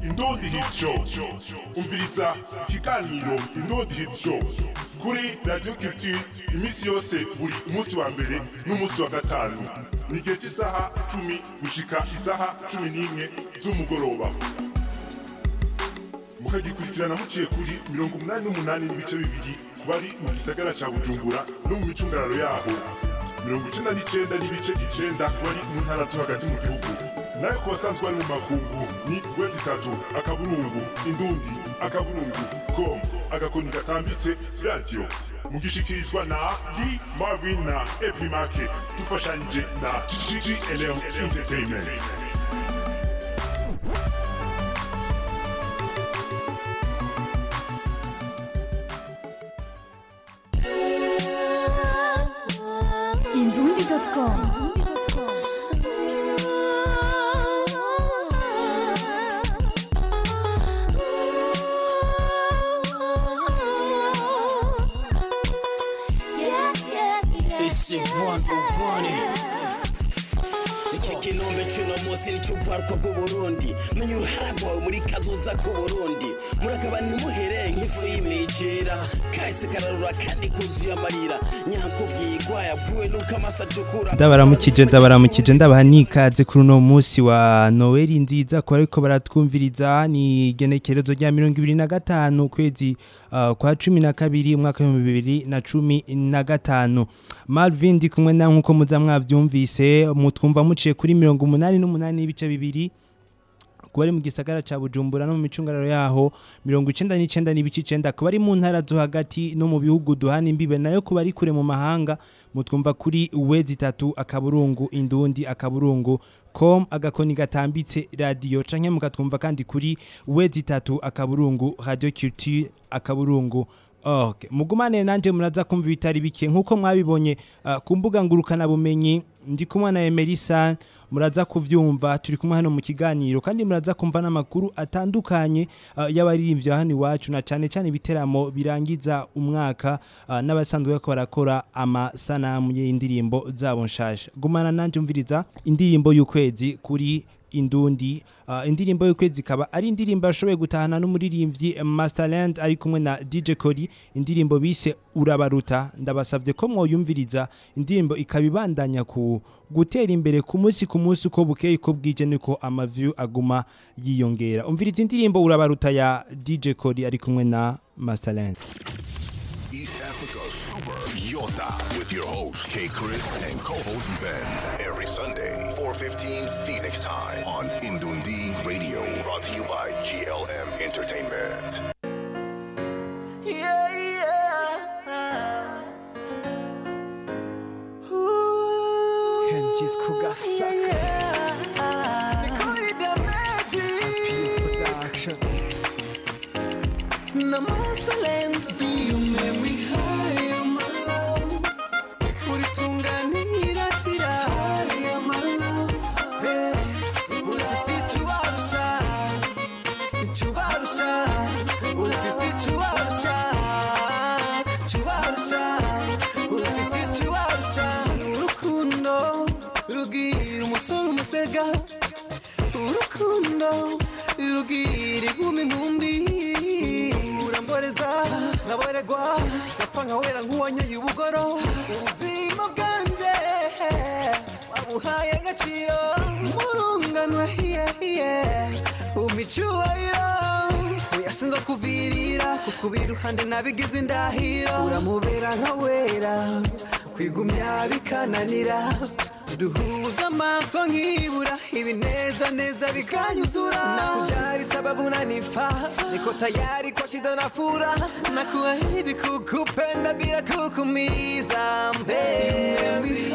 Indundi Hit Show. Umviriza ikiganiro Indundi Hit Show kuri Radio Culture imisi yose buri umunsi wa mbere n'umunsi wa gatanu. Ni gihe cy'isaha 10 gushika isaha 11 z'umugoroba. Mukagikurikirana muciye kuri 88 n'ibice bibiri bari mu gisagara ca Bujumbura no mu micungararo yaho. 99 n'ibice 9 bari mu ntara zo hagati mu gihugu. Nayo ku basanzwe bari mu makungu ni wetitatu akaburungu indundi akaburungu.com agakoni gatambitse radio mugishikirizwa na Lee Marvin na Epimake dufashanyije na GGLM Entertainment. Indundi.com Ikinombe cy'uno munsi ni cy'ubwarwa bw'Uburundi menye uruhara rwawe muri kazoza k'Uburundi murakaba ntimuhere nk'ifu y'imijera kahise kararura kandi kuzuye amarira nyakubwirwa yavuwe nuko amasatukura ndabaramukije ndabaha nikaze kuri uno munsi wa Noel nziza ko ariko baratwumviriza ni genekerezo rya 2025 kwezi kwa 12 umwaka wa 2015 Marvin ndi kumwe na nkuko muza mwavyumvise mutwumva muciye kuri 88 n'ibice bibiri kuba mu gisagara ca Bujumbura no mu micungararo yaho 99 n'ibice 9 kuba ari mu ntara zo hagati no mu bihugu duhana imbibe nayo kuba ari kure mu mahanga mutwumva kuri wezi3 akaburungu indundi akaburungu.com agakoni gatambitse radio canke mukatwumva kandi kuri wezi3 akaburungu Radio Culture akaburungu. Okay, mugumane nanje muraza kumva bitari bike nkuko mwabibonye ku mbuga ngurukana bumenyi ndi kumwe na Emerisa muraza kuvyumva turi kumwe hano mu kiganiro kandi muraza kumva namakuru atandukanye y'abaririmbyi hano iwacu na cyane biteramo birangiza umwaka n'abasanzwe bako barakora amasanamu y'indirimbo zabo nshasha. Gumana nanje umviriza indirimbo y'ukwezi kuri Indundi indirimbo y'ukwezi kaba ari indirimbo yashoboye gutahana n'umuririmbyi Masterland ari kumwe na DJ Cody indirimbo bise urabaruta ndabasavye ko mwoyumviriza indirimbo ikabibandanya ku gutera imbere ku munsi uko bukeye ko bwije niko amaview aguma yiyongera. Umviriza indirimbo urabaruta ya DJ Cody ari kumwe na Masterland. East Africa Super Yota with your host K Chris and co-host Ben every Sunday 4:15 Phoenix time on Indundi Radio, brought to you by GLM Entertainment. Henji's Kugasaka. Peace production. Namaste you make me high, my love. Uritunganira tira, my love. Ufisi chubarusha, ufisi chubarusha. Urukundo rugira umusore umusega, urukundo rugira inkumi nkumbi. Uramboreza nkaboregwa napfa nkawera nk'uwanyoye ubugoro ubuzima bwanje wabuhaye agaciro murunganwe umicyubahiro uyasinza kuvirira kukuba iruhande nabigize indahiro uramubera nkawera kwigumya bikananira duhuza amaso nkibura ibineza bikanyuzura nakujali sababu nanifa niko tayari kwa shida na fura nakuahidi kukupenda bila kukumiza mpenzi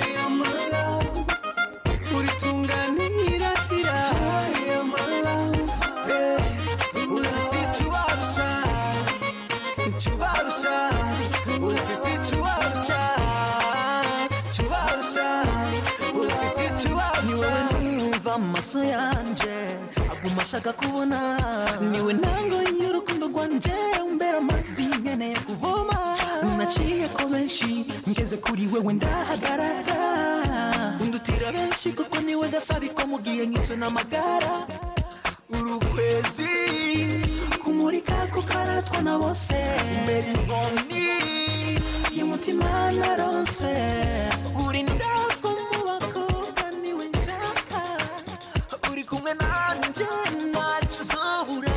uritunganira tira chubarusha ufisi chubarusha amaso yanje aguma ashaka kubona niwe ntango y'urukundo rwanje umbera amazi nkeneye kuvoma naciye ko benshi ngeze kuri wewe ndahagarara undutira benshi kuko niwe gasabiko mugiye nkitse n'amagara urukwezi kumurika kukaratwa na bose imbere imboni y'umutima narose uri ndatwa mu bakobwa niwe nshaka uri kumwe nanje ntacyo uzobura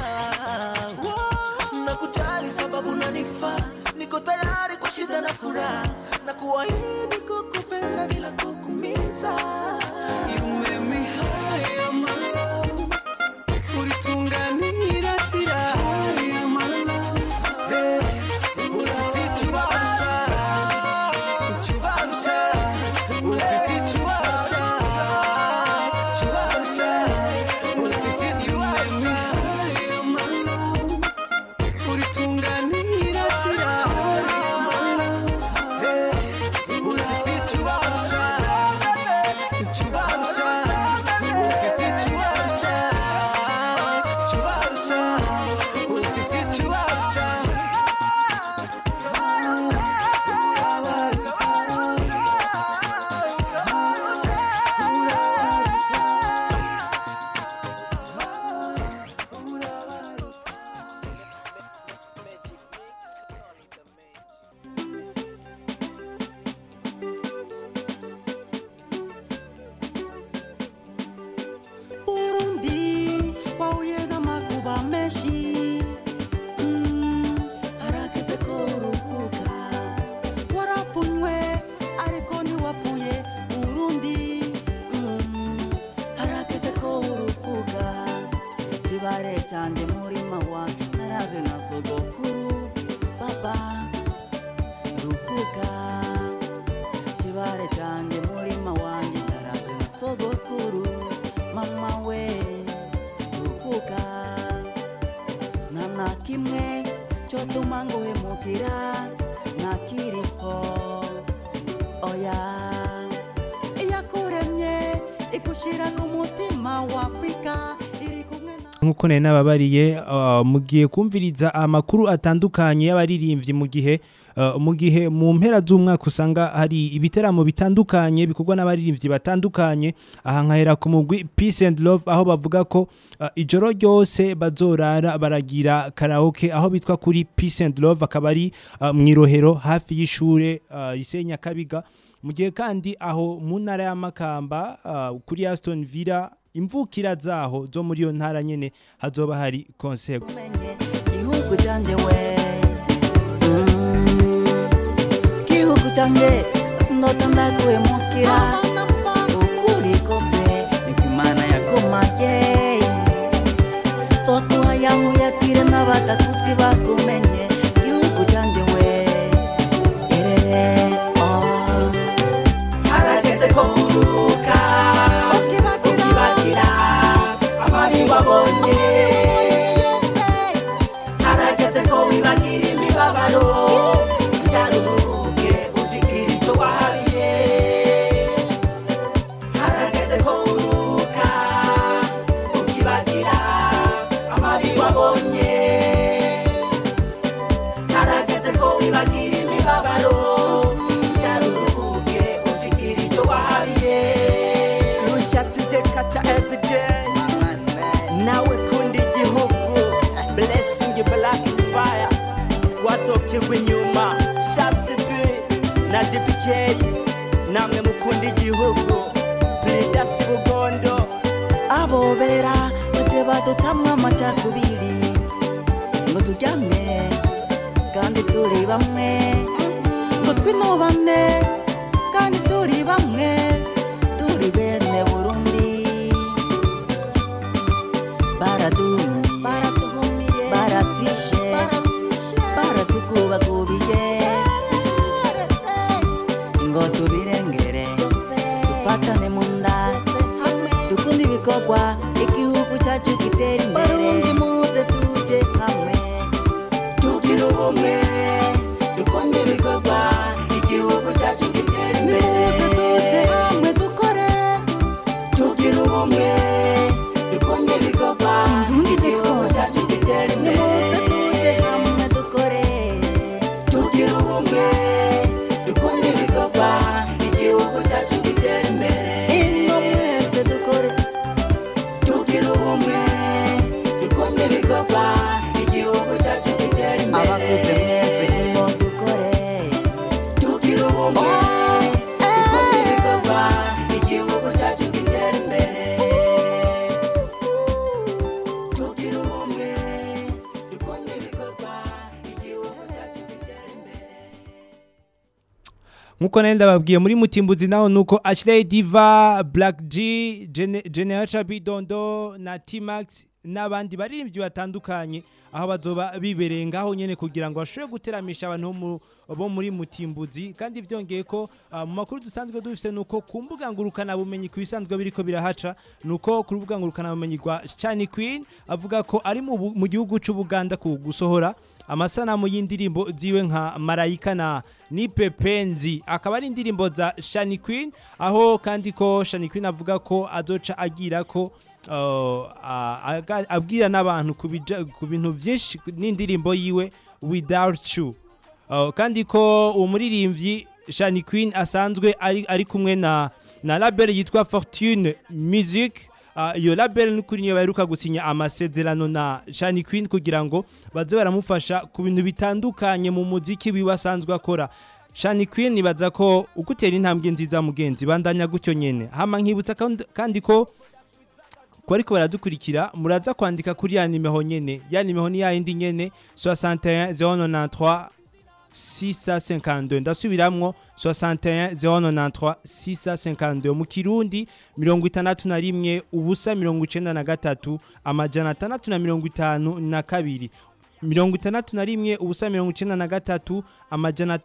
nakujali sababu nanifaa niko tayari kwa shida na furaha na kuahidi kukupenda bila kukumiza. You make me high, my love. Ulitunganira tira high, my love. Hey, ufisi chubarusha, chubarusha, ufisi chubarusha, chubarusha, ufisi chubarusha, my love. Ulitunganira tira high, my love. Hey, ufisi chubarusha, chubarusha, ufisi chubarusha, chubarusha, ufisi chubarusha. Burundi wahuye n'amakuba menshi harageze ko uruhuka warapfunywe ariko ntiwapfuye Burundi harageze ko uruhuka kibare cyane murima wa naraze na sogokuru baba ruhuka kibare cyane murima wanjye naraze na sogokuru mama we ruhuka nta kimwe cyo tuma nguhemukira ntakiriho oya iyakuremye igushira ku mutima wa Afrika iri kumwe na nkuko nari nababariye mugiye kumviriza amakuru atandukanye y'abaririmbyi mu gihe mu mpera z'umwaka usanga hari ibiteramo bitandukanye bikorwa n'abaririmbyi batandukanye aha nkahera ku mugwi Peace and Love aho bavuga ko ijoro ryose bazorara baragira karaoke aho bitwa kuri Peace and Love akaba ari mwirohero hafi y'ishure Isenya Kabiga mu gihe kandi aho mu ntara ya Makamba kuri Aston Villa imvukira zaho zo muri yo ntara nyene hazoba hari concert ihugu cyanje we ihugu cyanje ndotanda kuhemukira ukuri kose nikimana yakomaye sokuha yangu yakire n'abatakuzi bakumenye ihugu cyanje we erere harageze ko uruka ukibagira amabi wabonye harageze ko wibagira imibabaro cyaruhuke uzikira icyo wahabiye harageze ko uruka ukibagira amabi wabonye harageze ko wibagira imibabaro cyaruhuke uzikira icyo wahabiye rushatse kaca everyday nawe kundi igihugu blessing black fire watokirwa inyuma shasibi na GPK namwe mukunda igihugu Plidasi Bugondo abobera bate badutamwa amacakubiri ngo tujyane kandi turi bamwe ngo twinobane kandi turi bamwe turi bene Burundi baratuhumiye baratwishe baratukubakubiye ngo tubirengere dufatane mu nda dukunde ibikorwa igihugu cyacu gitera imbere Barundi muze tuje hamwe tugira ubumwe dukunde ibikorwa igihugu cyacu gitera imbere muze tuje hamwe dukore tugira ubumwe dukunde ibikorwa igihugu cyacu gitera imbere muze tuje hamwe dukore tugira ubumwe dukunde ibikorwa igihugu cyacu gitera imbere ino mwese dukore nkuko nari ndababwiye muri Mutimbuzi naho nuko Ashley Diva, Black G, Generation Bidondo na T-Max n'abandi baririmbyi batandukanye aho bazoba bibereye ngaho nyene kugira ngo bashobore guteramisha abantu bo muri Mutimbuzi. Kandi vyongeye ko mu makuru dusanzwe dufise nuko ku mbuga ngurukana bumenyi ku bisanzwe biriko birahaca nuko ku rubuga ngurukana bumenyi rwa Shani Queen avuga ko ari mu gihugu c'Ubuganda ku gusohora amasanamu y'indirimbo ziwe nka Marayika na Nipe Penzi, akaba ari indirimbo za Shani Queen, aho kandi ko Shani Queen avuga ko azoca agira ko abwira n'abantu ku bintu byinshi n'indirimbo yiwe Without You. Kandi ko umuririmbyi Shani Queen asanzwe ari kumwe na label yitwa Fortune Music. Iyo label n'ukuri niyo baheruka gusinya amasezerano na Shani Queen kugira ngo baze baramufasha ku bintu bitandukanye mu muziki wibasanzwe akora. Shani Queen nibaza ko ugutera intambwe nziza mugenzi bandanya gutyo nyene. Hama nkibutsa kandi ko ariko baradukurikira muraza kwandika kuri ya nimero nyene, ya nimero ni ya indi nyene 61 093 652. ndasubiramwo 61 093 652 mu Kirundi 61 ubusa 93 amajana 652 61 ubusa 93 amajana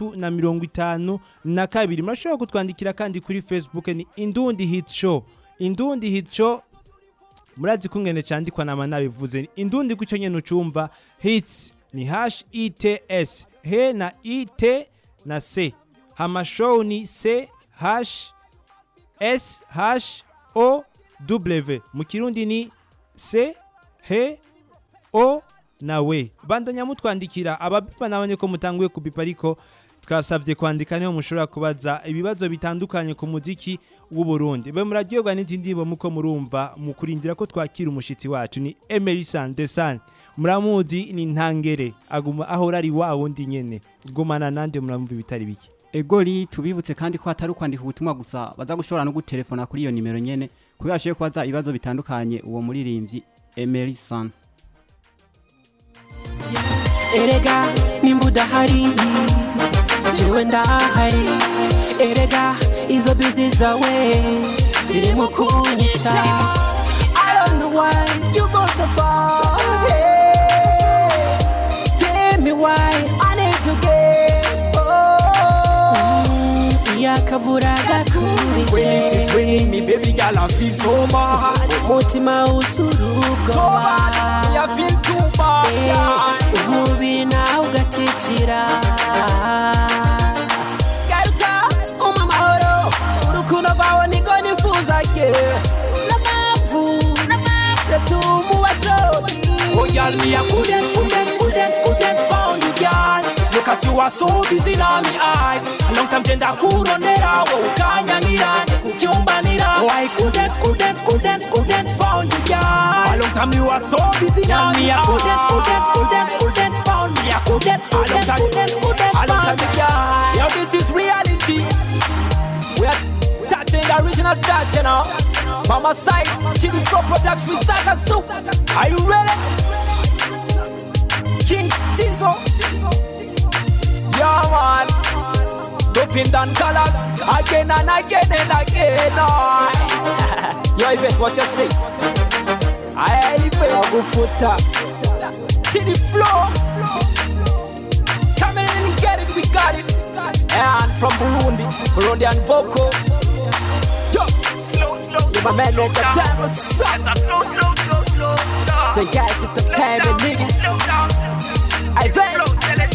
652. Murashobora kutwandikira kandi kuri Facebook ni Indundi Hit Show. Indundi Hit Show murazi kungene candikwa na manabivuze Indundi kuco nyene ucumva hits ni HITS he na IT na C, hama show ni CHSHOW, mu Kirundi ni C he O na we. Bandanya mutwandikira ababipa nabanye ko mutanguye kubipa, ariko twasavye kwandika niho mushobora kubaza ibibazo bitandukanye ku muziki w'u Burundi. Be muraryoga n'izindi ndirimbo muko murumva mu kurindira ko twakira umushitsi wacu ni Emerson Desan. Muramuzi ni ntangere aguma ahora ari wa wundi nyene gumana nande muramva bitari biki. Egoli tubibutse kandi ko atari kwandika ubutumwa gusa, baza gushobora no gutelefona kuri iyo nimero nyene kuko yashiye kwaza ibibazo bitandukanye uwo muririmbyi Emerson. Erega nimbuda hari jewe ndahari, erega izo busy zawe ziri mu kunyita. I don't know why you go so far, tell me why I need to get yakavura gakuri. When it is raining me baby girl I feel so bad, mutima usuruka so bad, I feel too bad, umubiri nawe ugatitira. Garuka umamahoro urukundo rwawe niko nifuza ke n'amavu yatumu wasobi. oh girl me a couldn't found you girl. Look at you are so busy now me eyes, a long time genda kurondera wo ukanyangira kucyumbanira. Oh I couldn't found you girl. A long time you are so busy now me eyes. Couldn't found me. I couldn't found you girl. Yo this is reality. We are touching the original touch, you know. Mama side, Chili Flow Productions, Saga Soup. Are you ready? King Tizo. Yeah man, Dopin Dan Colors, again and again and again. Yo Yves, what you say? I go Futa, Chili Flow. Come in and get it, we got it. And from Burundian vocal. Yo, you're my man at the time of say guys, it's a pair of niggas. I bet.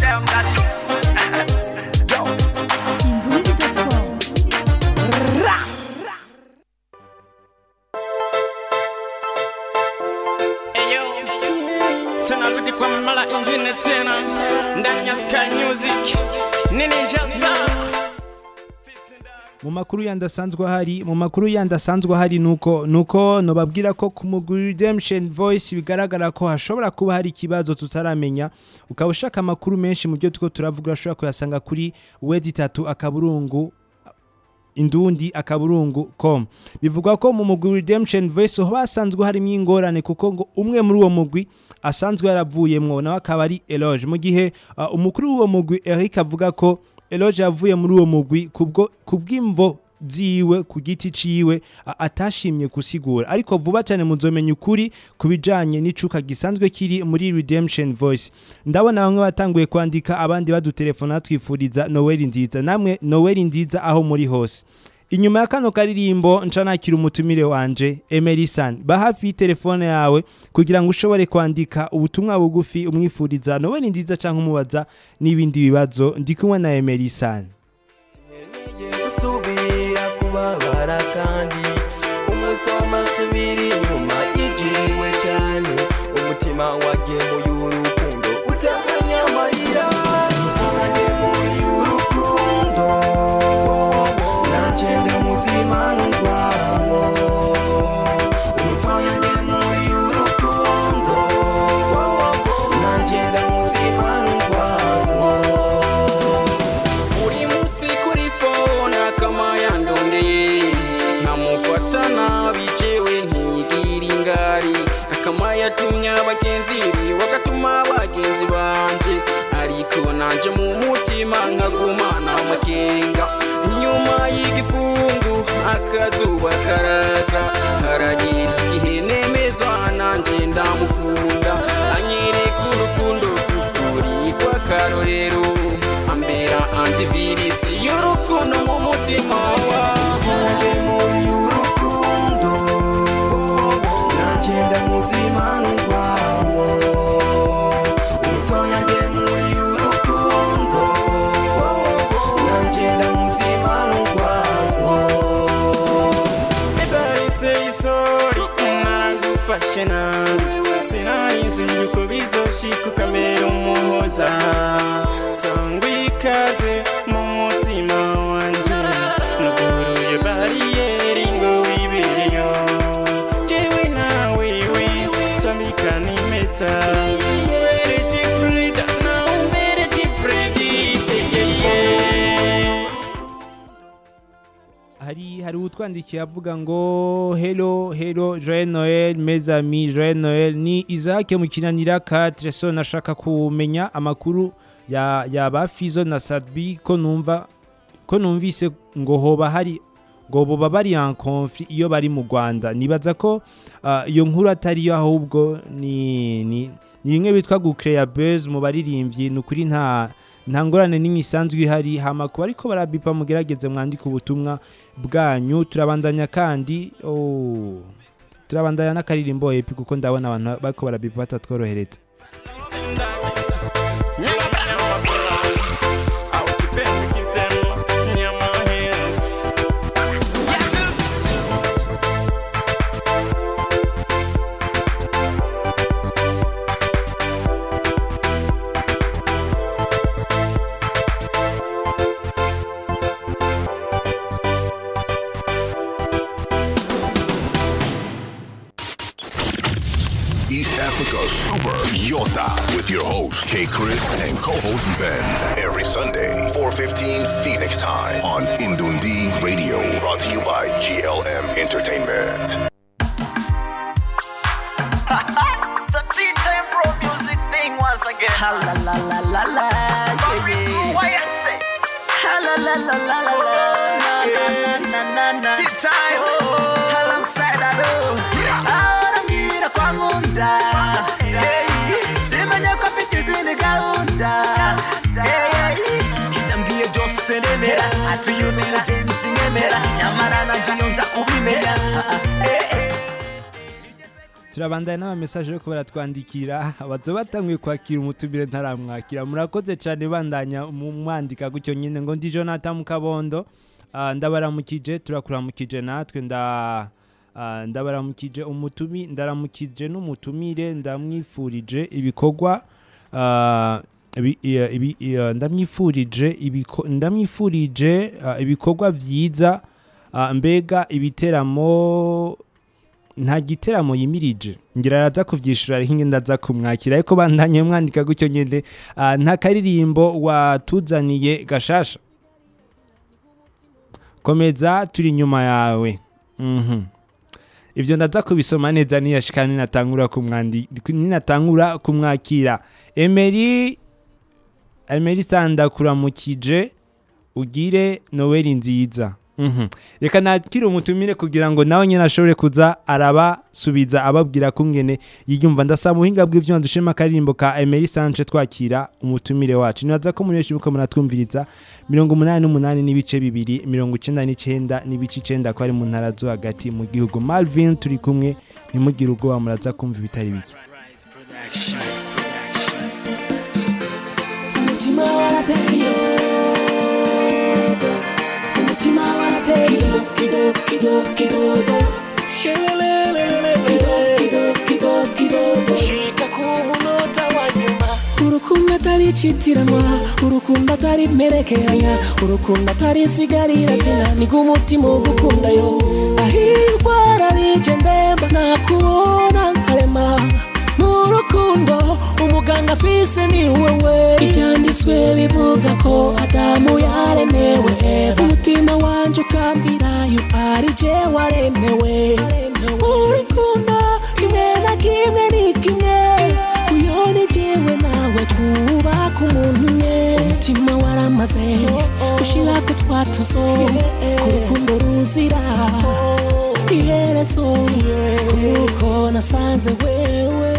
Mu makuru yandasanzwe hari nuko nobabwira ko ku muguri Redemption Voice bigaragara ko hashobora kuba hari ikibazo tutaramenya. Ukaba ushaka amakuru menshi mu byo tuko turavuga ashobora kuyasanga kuri www.3 akaburungu indundi akaburungu.com. Bivugwa ko mu mugwi Redemption Voice ho basanzwe harimo ingorane kuko ngo umwe muri uwo mugwi asanzwe yaravuyemwo nawe akaba ari Eloge, mu gihe umukuru w'uwo mugwi Eric avuga ko Eloge yavuye muri uwo mugwi kubw'imvo ziwe ku giti ciwe atashimye gusigura ariko vuba cyane muzomenya ukuri kubijanye n'icuka gisanzwe kiri muri Redemption Voice. Ndabona bamwe batanguye kwandika abandi badutelefona twifuriza Noel nziza, namwe Noel nziza aho muri hose. Inyuma ya kano karirimbo ncanakira umutumire wanje Emerson, ba hafi telefone yawe kugira ngo ushobore kwandika ubutumwa bugufi umwifuriza Noel nziza canke umubaza n'ibindi bibazo. Ndi kumwe na Emerson. Kubabara kandi umusoma subiri nyuma yigiriwe cyane umutima wagemuye urukundo utahanya amarira umusonanye muri urukundo nagenda muzima n'urwamo umusonanye muri urukundo nagenda muzima n'urwamo uri musi kuri phone kama yandondeye nkamufatana bicewe ntigira ingari akama yatumye abagenzi wakatuma abagenzi banje ariko nanje mu mutima nkagumana amakenga inyuma y'igifungu akazuba karaka haragira igihe nemezwa nanje ndamukunda anyereka urukundo rw'ukuri kwa karorero ambera antivirisi y'urukundo mu mutima wawe muri urukundo nagenda muzima n'urwamo umusonyange muri urukundo nagenda muzima n'urwamo Everybody say sorry naragufashe nabi sinarize yuko bizoshika ukamera umuhoza sangwa ikaze mu mutima wanje nuguruye bariyeri ngo wibereyo jewe nawe twambikana impeta were different now mere different hari utwandikiye avuga ngo hello Joyeux Noël mes amis, Joyeux Noël. Ni Isaac mu kinanira 4 so nashaka kumenya amakuru ya ba Fizo na Sadbi ko numvise ngo hoba hari ngo boba bari en conflit iyo bari mu Rwanda. Nibaza ko iyo nkuru atari yo ahubwo ni imwe bitwa gucreate buzz mu baririmbyi nukuri nta ngorane n'imisanzwe ihari hamakuru ariko barabipa mugerageze mwandika ubutumwa bwanyu. Turabandanya kandi turabandanya n'akaririmbo epi kuko ndabona abantu bako barabipa batatworohereza. East Africa Super Yota with your host K Chris and co-host Ben every Sunday 4:15 Phoenix time on Indundi Radio, brought to you by GLM Entertainment. It's a tea time pro music thing once again. Ha la la la la la. What you say? Ha la la la la la la. Na na na. Tea time. Alongside Ado. Aramira kwa ngunda. Simanya kwa fitizi ni gaunda. Itambie jose nemera. Ati yunemu jensi nemera. Nyamara na jiyonza kubimera. Turabandanya n'ama message yo kubara twandikira abazo batanguye kwakira umutumire ntaramwakira. Murakoze cyane bandanya umwandika gutyo nyine ngo ndi Jonathan Mukabondo. Ndabaramukije turakuramukije natwe ndabaramukije ndaramukije n'umutumire ndamwifurije ibikorwa ndamwifurije ibikorwa byiza mbega ibiteramo nta giteramo yimirije ngira araza kuvyishura hinge ndaza kumwakira ariko bandanye mwandika gutyo nyene nta karirimbo watuzaniye gashasha komeza turi nyuma yawe ivyo ndaza kubisoma neza niyashikana ninatangura kumwakira Emery Sanda kuramukije ugire Noel nziza. Reka nakire umutumire kugira ngo nawe nyine ashobore kuza arabasubiza ababwira kungene yiyumva. Ndasaba muhinga bw'ivyo ndushema akaririmbo ka Emery Sanchez twakira umutumire wacu. Nibaza ko muri benshi muko muratwumviriza 88 n'ibice 2 99 n'ibice 9 ko ari mu ntara zo hagati mu gihugu. Malvin turi kumwe nimugire ubwoba muraza kumva ibitari bike. Umutima warateyo Umutima warateyo kido kido kidogo Helelelelele kido kido kidogo Shika ku munota wa nyuma Urukundo atari citiranwa Urukundo atari merekeranya Urukundo atari sigarira zina Niga umutima ugukunda yo Ahirwa rarije ndemba nakubona nkarema Murukundo umuganga afise ni wewe Ibyanditswe bivuga ko Adamu yaremewe Eva Umutima wanje ukambwira yo ari je waremewe Urukundo kimwe na kimwe ni kimwe Uyo ni jewe nawe twubaka umuntu umwe Umutima waramaze ushira ko twatuzo Urukundo ruzira iherezo Kuko nasanze wewe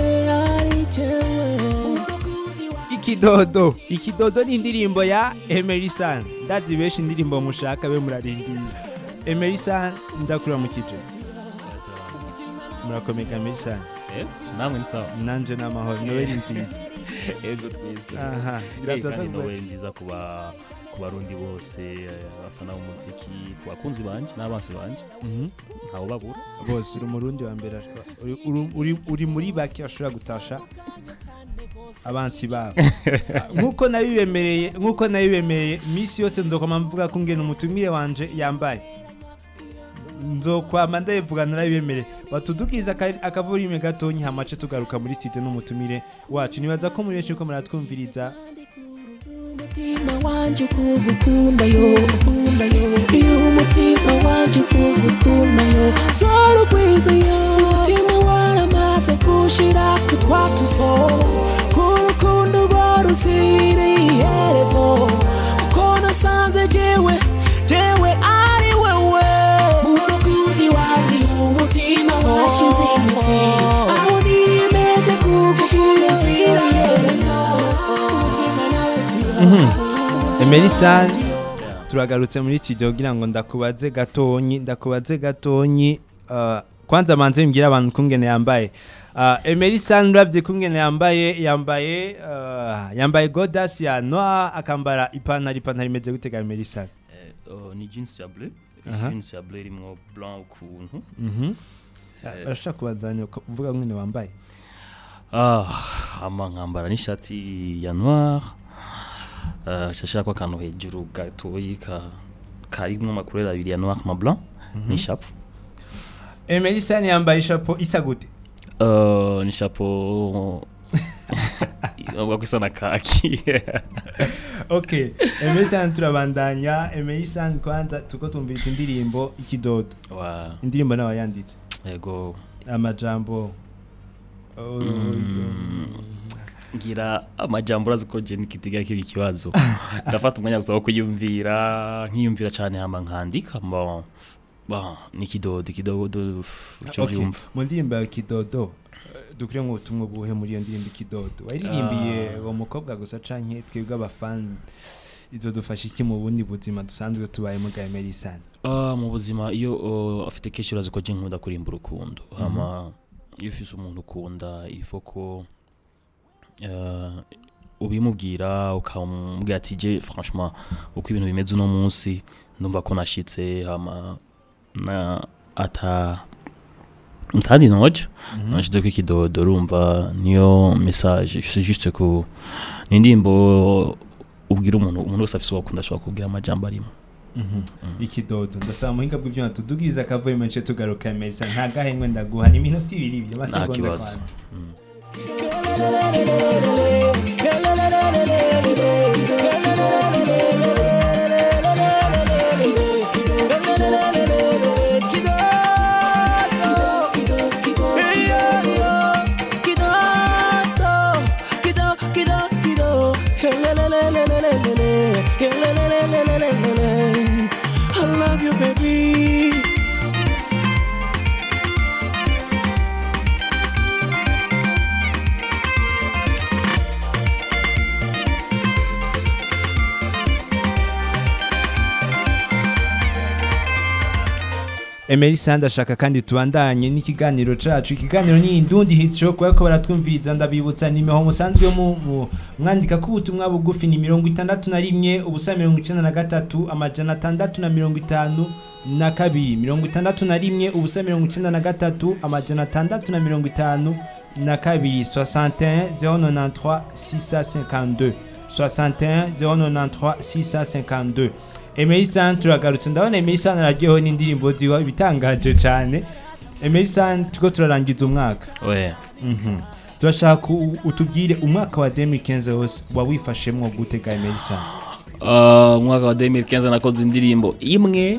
Ikidodo ni indirimbo ya Emery San. Ndazi benshi indirimbo mushaka be murarindira. Emery San ndakura mu kije. Murakomeka Emery San. Namwe ni sawa. Nanje namahoro Noel nziza. Ego twese. Aha. Kandi Noel nziza kuba kubarundi bose abafana b'umuziki kubakunzi banje n'abansi banje. Ntawo babura. Bose uri murundi wa mbere uri muri baki ashobora gutasha abansi babo nkuko nabibemereye misi yose nzokoma mvuga ko ngene umutumire wanje yambaye nzokwama ndabivuga narabibemereye batudukiza akavurime gatonyi hamace tugaruka muri site n'umutumire wacu. Nibaza ko muri benshi ko muratwumviriza Umutima wanje kugukunda yo Umutima wanje kugukunda yo Zoro kwiza yo Umutima waramaze kushira kutwatuzo Kurukundo barusiri iherezo Uko nasanze jewe ari wewe Murukundi wari umutima washize imizi Aho niyemeje kugukunda zira iherezo Emery San turagarutse muri studio kugira ngo ndakubaze gatonyi kwanza manze mbwira abantu kungene yambaye Emery San uravye kungene yambaye godas ya noir akambara ipantaro imeze gutega Emery San. Ni jeans ya bleu irimo blanc ukuntu. Arashaka kubazanya kuvuga ngene wambaye ama nkambara n'ishati ya noir shashira kwa kantu hejuru gatoyi karimo makurera abiri ya noir na blanc ni chapeau. Emery San yambaye chapeau isa gute? Ni chapeau wakwisana kaki. Okay, Emery San turabandanya. Emery San kwanza tuko tumvita indirimbo Ikidodo. Indirimbo nawe yanditse. Yego. Amajambo ngira amajambo razuko je nikitiga kibi kibazo ndafata umwanya gusa wo kuyumvira nkiyumvira cyane hama nkandika nikidodo cyo byumva. Mu ndirimbo ya Kidodo dukure mu butumwa buhe muri iyo ndirimbo Kidodo waririmbiye uwo mukobwa gusa canke twebwe abafan izo dufasha iki mu bundi buzima dusanzwe tubaye mu Emery San? Mu buzima iyo afite kesho razuko je nkunda kurimba urukundo hama iyo ufise umuntu ukunda ifoko ubimubwira ukamubwira ati je franchement uko ibintu bimeze uno munsi ndumva ko nashitse hama na ntadi noje nashitse ku Kidodo urumva niyo message c'est juste ko nindimbo ubwira umuntu wese afise wakunda ashobora kubwira amajambo arimo. Ikidodo ndasaba muhinga bw'ivyo tudugiza akavuye menshi tugaruka Emery San nta gahengwe ndaguha ni minota 2 amasegonda kwanza. Kido Emery Sand ashaka kandi tubandanye n'ikiganiro cacu. Ikiganiro ni Indundi Hit Show, kwa ko baratwumviriza ndabibutsa nimeho musanzwe mu mwandika ku butumwa bugufi ni 61 ubusa 93 amajana 652 na kabiri 61 ubusa 93 amajana 652 na kabiri 61 093 652 61 093 652. Emery Sand turagarutse, ndabona Emery Sand aragiyeho n'indirimbo ziwa ibitangaje cyane. Emery Sand tuko turarangiza umwaka. Turashaka utubwire umwaka wa 2015 wose wawifashemwo gutega Emery Sand. Umwaka wa 2015 nakoze indirimbo imwe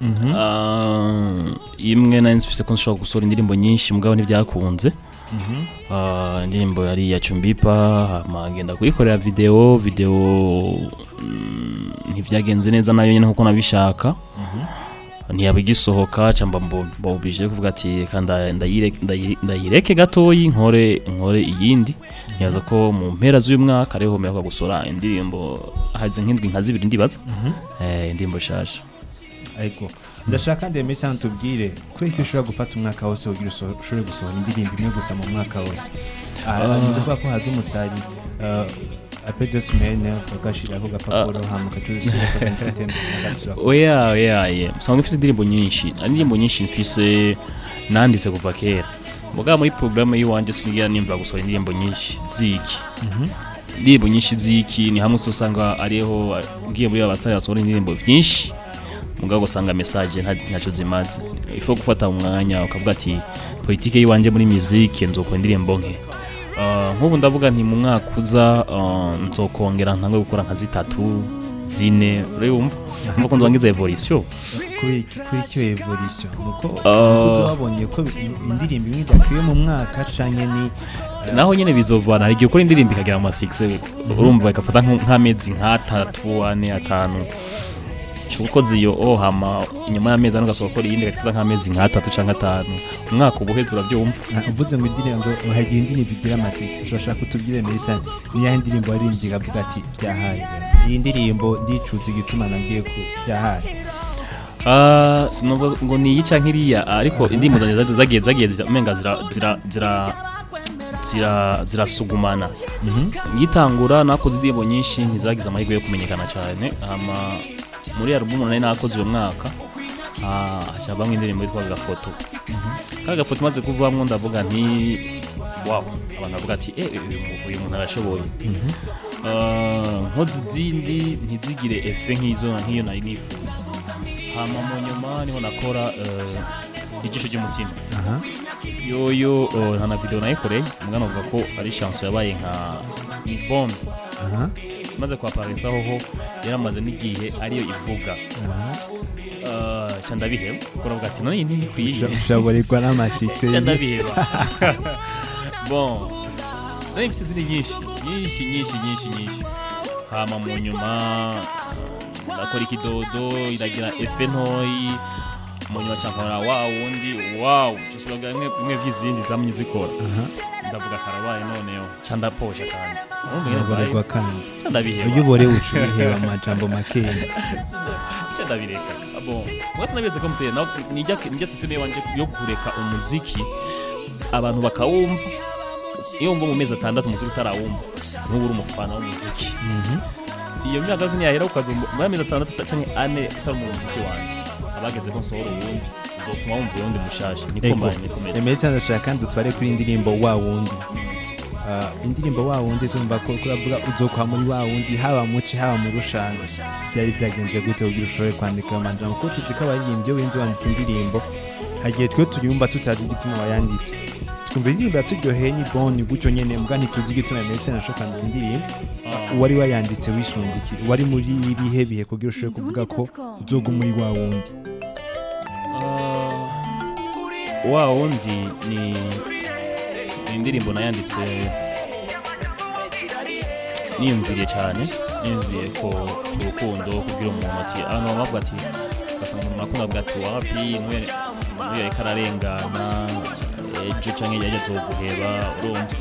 imwe nansifise ko nshobora gusora indirimbo nyinshi mugabo ntibyakunze. Indirimbo yari ya Chumbipa magenda kuyikorera video ntivyagenze neza nayo nyene nkuko nabishaka. Ntiyabigisohoka camba mbobije kuvuga ati kanda ndayireke gatoyi nkore iyindi. Nyaza ko mu mpera z'uyu mwaka ariho meho gusora indirimbo haze nk'indwi nka zibiri ndibaza indirimbo shasha. Ariko ndashaka Emery Sand tubwire ko ushobora gufata umwaka wose ugira ushobore gusohora indirimbo imwe gusa mu mwaka wose. Nivuga ko haza umustari après 2 semaines ukashira ko gapapuro hamuka cyusira ko entertainment. Oya sanga mfise indirimbo nyinshi mfise nanditse kuva kera. Muga muri programme yiwanje singira nimva gusohora indirimbo nyinshi ziki. Indirimbo nyinshi ziki ni hamwe usanga ariho ngiye muri abasari basohora indirimbo byinshi. Mugabo usanga message ntaco zimaze. Ifo gufata umwanya ukavuga ati politike yiwanje muri musique nzokora indirimbo nke. Nk'ubu ndavuga nti mu mwaka uza nzokongera ntangwe gukora nka 3 4 urumva nuko nzangiza evolution kuri cyo evolution nuko tubabonye ko indirimbo imwe idakwiye mu mwaka canke ni naho nyene bizovana igihe ukora indirimbo ikagera mu 6 urumva ikafata nk'amezi nka 3 4 5 chuko ziyo hama inyuma y'amezi anugasoka kora yindi gatwa nk'amezi nka 3 canke 5 umwaka ubuheze urabyumva. Uvuze ngo indirimbo hagiye indirimbo bigira amasiki turashaka kutubwire Emery Sand ni ya indirimbo arindira avuga ati byahaye iyi ndirimbo ndicuza igituma nagiye ku byahaye. Sinumva ngo ni yica nkiriya ariko indirimbo zanjye zagiye zamenga zirasugumana. Ngitangura nakoze indirimbo nyinshi ntizagize amahirwe yo kumenyekana cyane. Muri album nari nakoze uyu mwaka acabamwe indirimbo yitwa Gafoto. Gafoto maze kuvamwo ndavuga nti wow abantu bavuga ati uyu muntu arashoboye. Nkoze zindi ntizigire efe nk'iyo nari nifuza. Hama mu nyuma niho nakora igisho cy'umutima. Yoyo hana video nayikoreye mugano uvuga ko ari chance yabaye nka bombe. Maze kwa Paris aho yaramaze n'igihe ariyo ivuga. Cyanda biheba kuravuga ati none nini kwiye ushaborirwa n'amasitse. Cyanda biheba. Bon. Nari mfite nyinshi. Hama mu nyuma nakora ikidodo iragira efe ntoyi mu nyuma cyangwa wundi cyosuraga imwe vy'izindi zamye zikora. Ndavuga karabaye noneho cyanda posha kandi urumva kandi cyanda biheba uyubore ucuriheba amajambo makeya cyanda bireka. Bon wese nabeze ko muteye naho nijya system yanje yo kureka umuziki abantu bakawumva iyo ngo mu mezi 6 umuziki utarawumva nk'uburi umufana w'umuziki. Iyo myaka zone yahera ukazumva mu mezi 6 canke 4 usara mu muziki wanje abageze ko nsohora ubundi uzotuma wumva ubundi mushasha niko mbanye komeza. Emery Sand ashaka kandi utware kuri indirimbo wa wundi. Indirimbo wa wundi tumva ko kuravuga uzokwa muri wa wundi haba muci haba mu rushanga byari byagenze gute ugira ushobore kwandika amajambo ko tuzika abaririmbye wenze wandika indirimbo hagiye twe turiyumva tutazi igituma wayanditse twumva indirimbo yaturyoheye ni bon gutyo nyene mbwa ntituzi igituma Emery Sand ashaka indirimbo wari wayanditse wishunzikira wari muri ibihe bihe kugira ushobore kuvuga ko uzoga muri wa wundi. Wa wundi ni indirimbo nayanditse niyumviriye cyane niyumviriye ko urukundo kugira umuntu ati bavuga ati basanga umuntu akunda bwa ati wapi niyo kararengana ejo canke yajya guheba urumva.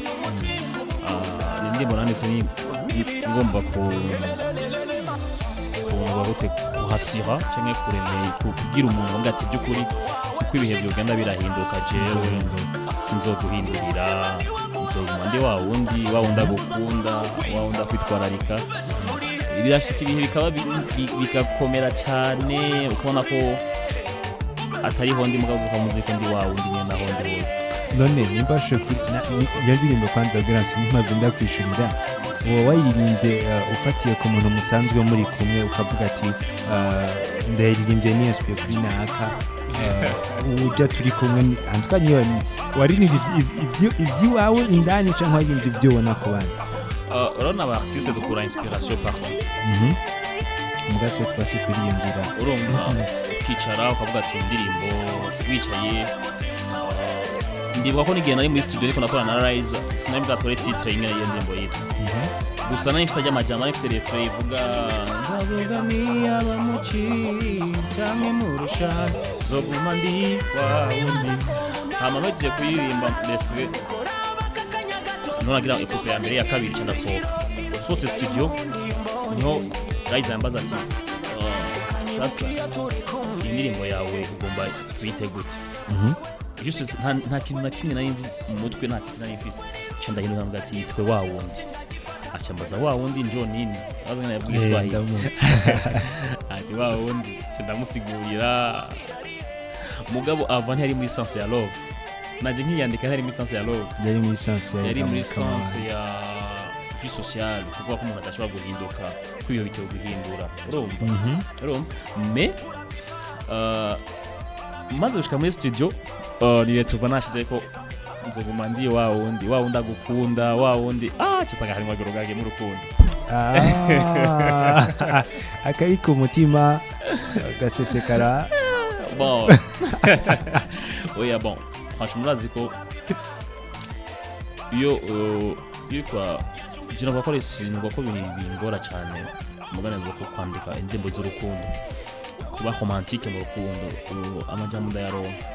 Indirimbo nanditse ni ngomba ku kuhasira cyangwa kuremeye kugira umuntu ngo ati by'ukuri uko ibihe byogenda birahinduka jewe sinzoguhindurira nzoguma ndi wa wundi agukunda wa wundi akwitwararika birashika ibihe bikaba bigakomera cyane ukabona ko atariho ndi mugabo uva muziko ndi wa wundi nyene naho ndi hose none nimba iyo ndirimbo kwanza Grace ntimpamvu ndakwishurira wowe wayirimbye ufatiye ku muntu musanzwe muri kumwe ukavuga ati ndayiririmbye niyeswe kuri naka ujya turi kumwe antwa niyo waririmbye iby'iwawe indani cyangwa waririmbye ibyo ubona ku bandi urabona aba artiste dukura inspiration partout mugaswe twasi kuriyumvira urumva ukicara ukavuga ati indirimbo wicaye ndibuka ko n'igihe nari muri studio ariko nakorana na Rise sinari bwatore titre imwe y'iyo ndirimbo yitwa gusa nari mfite amajambo nari mfite refrain ivuga ndabugamiye abamuci cyangwa murusha zoguma ndi wawundi hama bagiye kuririmba refrain nonagira ekupe ya mbere ya kabiri cyenda sohoka studio niho Rise yambaza ati sasa indirimbo yawe ugomba tuyite gute juste nta kintu na kimwe nari nzi mu mutwe nta kintu nari mfise cyo ndahino nambwa ati yitwe wa wundi acambaza wa wundi ndio nini abana yabwizwa ati wa wundi cyo ndamusigurira mugabo avant yari muri sense ya love naje nkiyandika yari muri sense ya love yari muri sense ya vie sociale kuko ko umuntu adashobora guhinduka kwiyo bityo guhindura urumva mais maze gushika muri studio ni tuva nashize ko nzoguma ndi wa wundi agukunda wa wundi cyasanga harimo agorogage mu rukundo akari ku mutima gasesekara bon oya bon franchement murazi ko iyo kwa jina bakore singo ko bingora cyane mugana zo kwandika indirimbo z'urukundo kuba romantique mu rukundo amajambo ndayaronka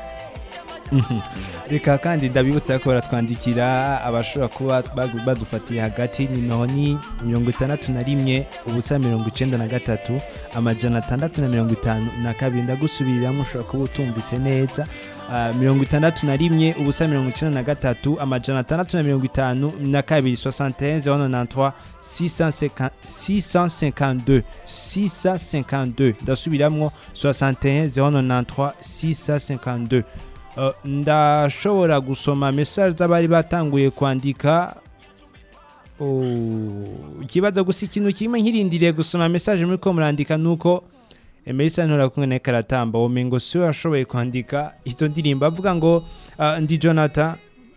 reka kandi ndabibutsa ko baratwandikira abashobora kuba badufatiye hagati nimero ni 61 ubusa 93 amajana 652 ndagusubiriramo ushobora kuba utumvise neza 61 ubusa 93 amajana 652 652 ndasubiramwo 61 652 ndashobora gusoma message z'abari batanguye kwandika ikibazo gusa ikintu kimwe nkirindiriye gusoma message muri ko murandika nuko Emerisa ntora kumwe na Karatamba womengo so yashoboye kwandika izo ndirimbo avuga ngo ndi Jonathan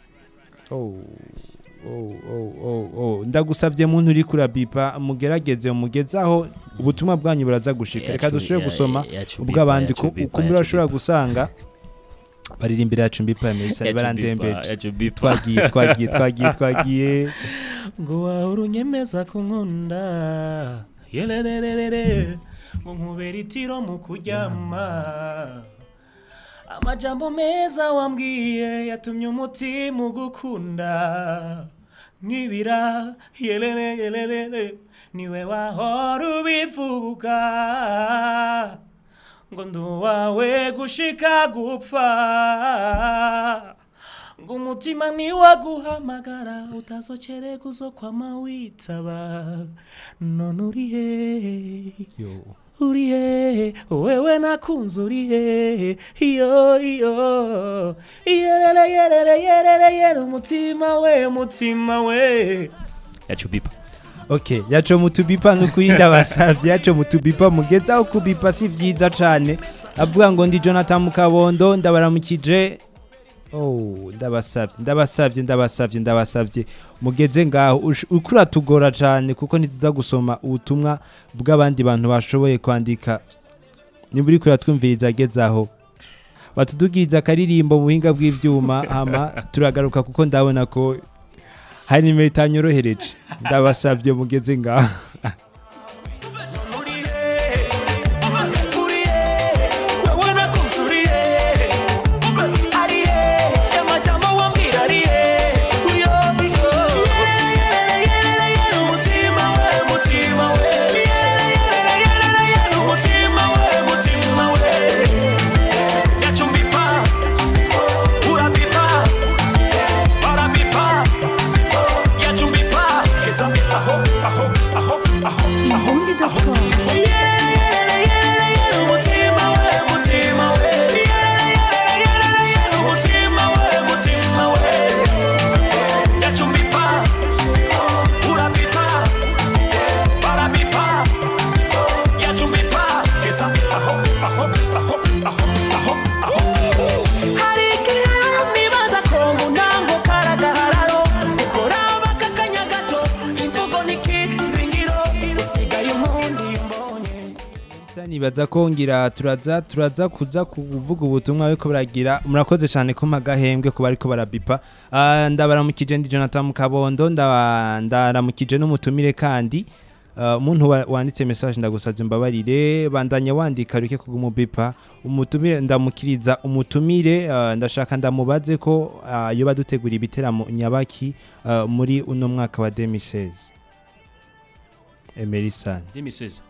ndagusavye muntu uri kuri bipa mugerageze umugezaho ubutumwa bwanyu buraza gushika reka dushobore gusoma ubwo abandi ko murashobora gusanga baririmbira yacu mbipa Emerisa barandembeje twagiye ngo warunyemeza ko nkunda yelelelele ngo nkubera itiro mu kuryama amajambo meza wambwiye yatumye umutima ugukunda nkibira yelelelele niwe wahora ubivuga ngo nduwawe gushika gupfa ngo umutima niwaguhamagara utazocere kuzokwama witaba none urihe wewe nakunze urihe iyo yerere umutima we yachubipa Okay, yacho mutubipa nukurinda basavye yacho mutubipa mugezaho kubipa si vyiza cane avuga ngo ndi Jonathan Mukabondo ndabaramukije ndabasavye mugeze ngaho ukura tugora cane kuko ntiza gusoma ubutumwa bw'abandi bantu bashoboye kwandika niburi kura twumviriza gezaho batudugiriza akaririmbo mu buhinga bw'ivyuma hama turagaruka kuko ndabona ko hari nimero itanyorohereje ndabasavye mugeze ngaho Mutima Emerisa nibaza ko ngira turaza kuza kuvuga ubutumwa ariko baragira murakoze cyane ko magahembwe kuba ariko barabipa ndabaramukije ndi Jonathan Mukabondo ndaramukije n'umutumire kandi umuntu wanditse message ndagusabye mbabarire bandanya wandika ruke kugumubipa umutumire ndamukiriza umutumire ndashaka ndamubaze ko yo badutegura ibiteramo nyabaki muri uno mwaka wa 2016 Emerisa 2016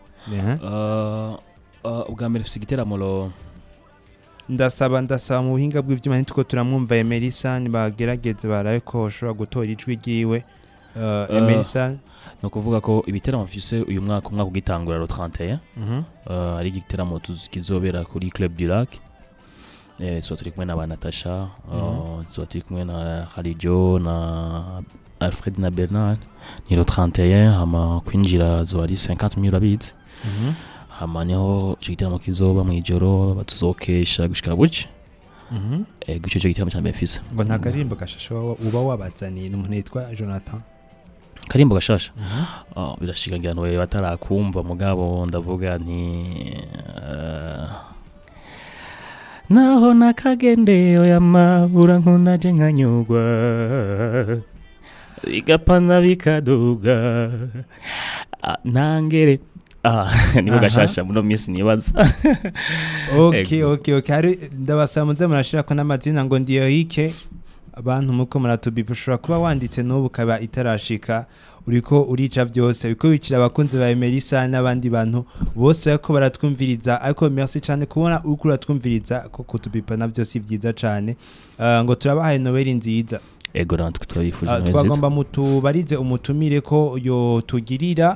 ubwa mbere ufite igiteramo ro ndasaba mu buhinga bw'ivyuma nitwo turamwumva Emerisa bagerageze baraye ko ushobora gutora ijwi giwe Emerisa no kuvuga ko ibiteramo mfise uyu mwaka ugitangura ro 31 ari igiteramo kizobera kuri Club du Lac so turi kumwe na Natasha so turi kumwe na Khalijo na Alfred na Bernard ni ro 31 hama kwinjira zo ari 50,000 abitse hama niho igiteramo kizoba mu ijoro batuzokesha gushika buce gucyo igiteramo cyane mfise ngo nta karimbo gashasho uba wabazaniye n'umuntu yitwa Jonathan karimbo gashasha birashikangira no batarakumva mugabo ndavuga nti naho nakagende oya mahura nkunaje nkanyugwa igapana bikaduga nangere nibo gashasha muno minsi nibaza okay hari ndabasamuze murashira ko n'amazina ngo ndiyo hike abantu muko muratubipa ushobora kuba wanditse n'ubu kaba itarashika uriko urica byose biko bicira abakunzi ba Emerisa n'abandi bantu bose bako baratwumviriza ariko merci cyane kubona uko uratwumviriza ko kutubipa navyo si byiza cyane ngo turabahaye Noel nziza ego natwe twabifuje neza twagomba mutubarize umutumire ko yo tugirira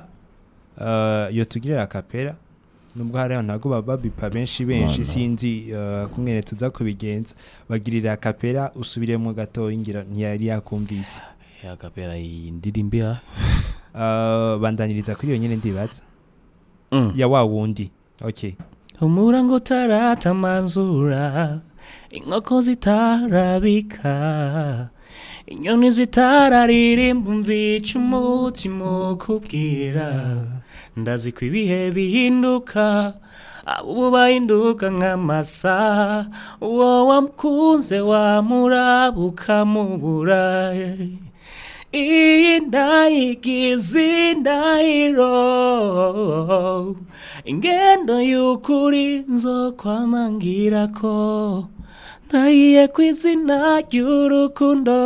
kapera nubwo hari ntago babipa benshi sinzi kumwene tuza kubigenza bagirira kapera usubiremo gato ingira ntiyari yakumvise ya kapera indirimbira bandaniriza kuri yo nyene ndibaza ya wa wundi okay umurango taratamanzura inkoko zitarabika inyoni zitararirimba mvica umutima kubwira ndazi ko ibihe bihinduka abo bahinduka nk'amasaha uwo wamukunze wamurabuka mubura iyi ndayigize indahiro ingendo y'ukuri nzokwamangira ko ndahiye kw'izina ry'urukundo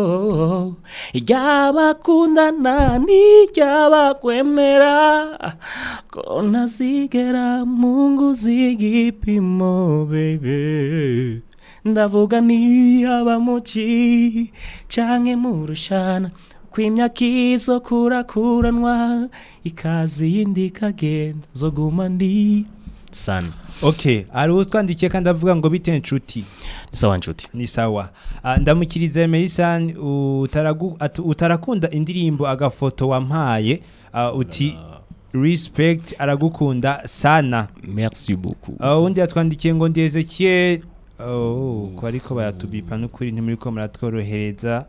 iry'abakundana n'iry'abakwemera ko ntazigera mungu z'igipimo baby ndavuga niyaba muci canke murushana kw'imyaka izo kurakuranwa ikazi yindi kagenda zoguma ndi sana okay ari utwandikiye kandi avuga ngo bite nshuti sawa nshuti ni sawa ndamukiriza Emerisa utarakunda indirimbo agafoto wampaye uti respect aragukunda sana merci beaucoup undi yatwandikiye ngo ndi Ezekiel ko ariko baratubipa n'ukuri ntimuri ko muratworohereza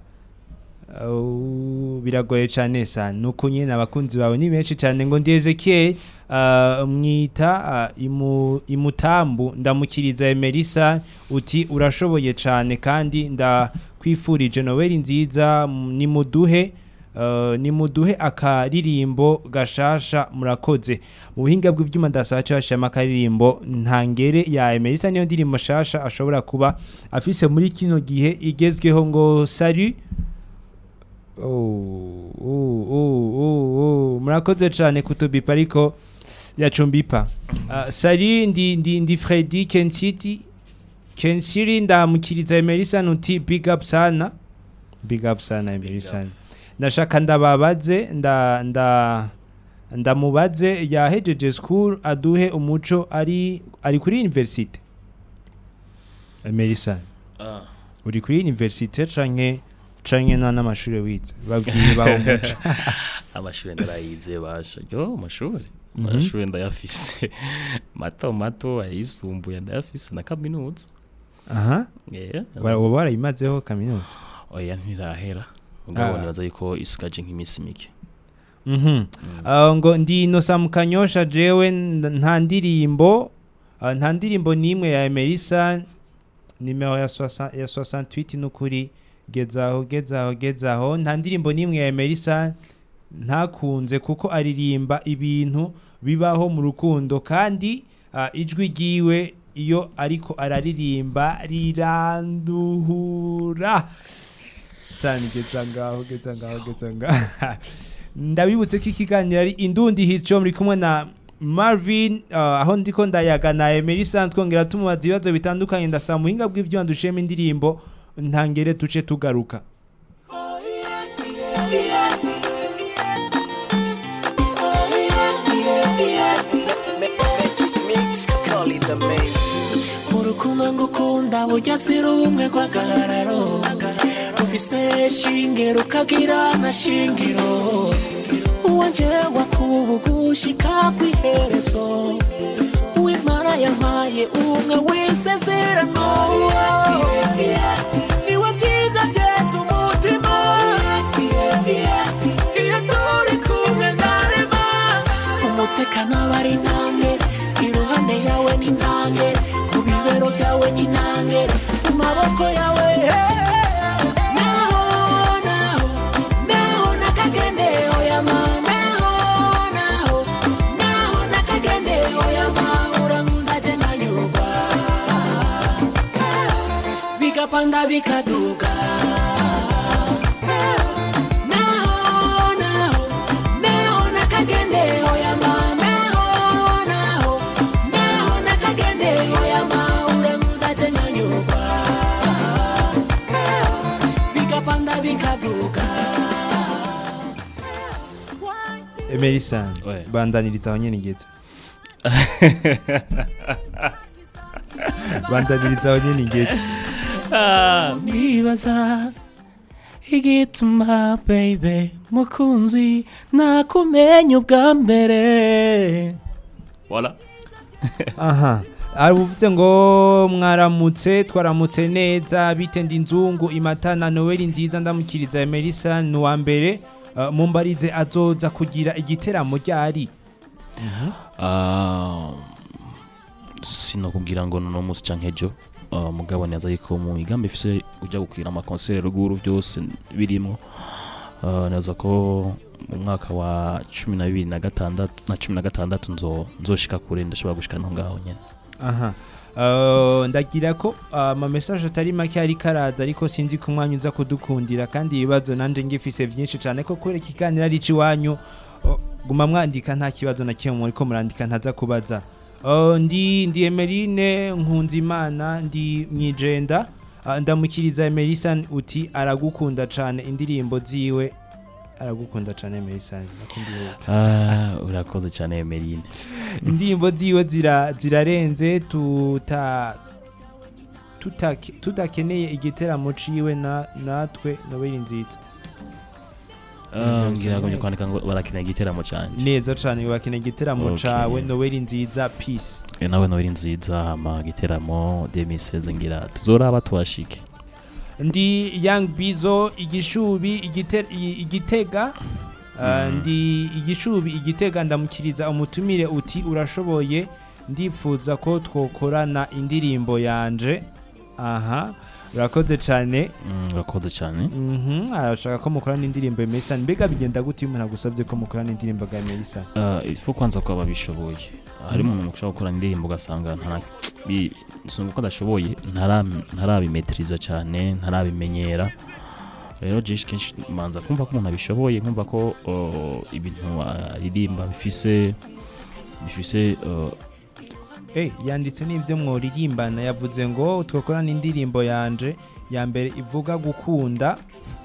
biragoye cyane sana nuko nyine abakunzi bawe ni benshi cyane ngo ndi Ezekiel mwita imutambu ndamukiriza Emerisa uti urashoboye cyane kandi ndakwifurije Noel nziza nimuduhe akaririmbo gashasha murakoze mu buhinga bw'ivyuma ndasaba cyashama akaririmbo ntangere ya Emerisa niyo ndirimbo shasha ashobora kuba afise muri kino gihe igezweho ngo salut murakoze cyane kutubipa ariko yacumbipa salut ndi Freddy Kensiri ndamukiriza Emerisa nuti big up sana Emerisa ndashaka ndababaze ndamubaze yahejeje school aduhe umuco ari kuri university Emerisa uri kuri university canke n'amashuri wize babwiye baho umuco amashuri ndarayize basha yo amashuri ndayafise mato ayisumbuye ndayafise na kaminuza warayimazeho kaminuza oya ntirahera ubwo nibaza yuko isigaje nk'imisi mike ngo ndi Innocent Mukanyosha jewe nta ndirimbo nimwe ya Emerson nimero ya 68 n'ukuri gezaho nta ndirimbo nimwe ya Emerson ntakunze kuko aririmba ibintu bibaho mu rukundo kandi ijwi giwe iyo ariko araririmba riranduhura sani geza ngaho ndabibutse ko ikiganiro ari Indundi Hit Show muri kumwe na Marvin aho ndiko ndayaga na Emerson twongera tumubaza ibibazo bitandukanye ndasaba muhinga bw'ivyo ndushema indirimbo ntangere tuce tugaruka. Urukundo ngukunda burya si rumwe rw'agahararo rufise shingiro ukagira na shingiro uwanje wakubugushika kw'iherezo uwimana yampaye umwe w'isezerano niwe vyiza vyese umutima iyo turi kumwe ndarema umutekano bari nange iruhande yawe ni nange mu bibero byawe ni nange mu maboko yawe naho nakagende oyama naho nakagende oyama urankunda je nkanyurwa bigapanda bikaduga naho nakagende oyama Emerson bandaniriza aho nyene ngeze nibaza igituma baby mukunzi nakumenya ubwa mbere voilà aha aruvuze ngo mwaramutse twaramutse neza bitendi nzungu imatana Noel nziza ndamukiriza Emerson nuwa mbere mumbarize azoza kugira igiteramo ryari sino kugira ngo no musi cankejo mugabo neza yiko mu igambe ifise uja gukira ama concert ruguru byose birimo naza ko mu mwaka wa 12 na 16 nzoshika kure ndashobora gushika no ngaho nyene aha ndagira ko ama message atari make ari karaza ariko sinzi ko mwanya uza kudukundira kandi ibibazo nanje ngifise byinshi cyane ko kwereka ikanira ari ciwanyu guma mwandika nta kibazo na kimwe muri ko murandika ntaza kubaza ndi Emeline Nkunzimana ndi mwijenda ndamukiriza Emerson uti aragukunda cyane indirimbo ziwe aragukunda cyane Emerson urakoze cyane Emeline indirimbo ziwe zirarenze tutakeneye igiteramo ciwe natwe Noel nziza ngira ngo kwandika ngo barakeneye igiteramo cyane neza cyane bakeneye igiteramo cawe Noel nziza peace nawe Noel nziza hama igiteramo 2016 ngira tuzoraba twashike ndi Young Bizo igishubi igitega ndi igishubi igitega ndamukiriza umutumire uti urashoboye ndifuza ko twokorana indirimbo yanje aha urakoze cyane arashaka ko mukorana indirimbo Emerson mbega bigenda gute umuntu agusabye ko mukorana indirimbo ga Emerson ifu kwanza ko babishoboye hari umuntu ushaka gukora indirimbo gasanga nsunguko adashoboye ntarabimetriza cyane ntarabimenyera rero jish kenshi manza kumva ko umuntu abishoboye kumva ko ibintu aririmba bifise yanditse n'ibyo mworirimbana yavuze ngo twakorana indirimbo yanje ya mbere ivuga gukunda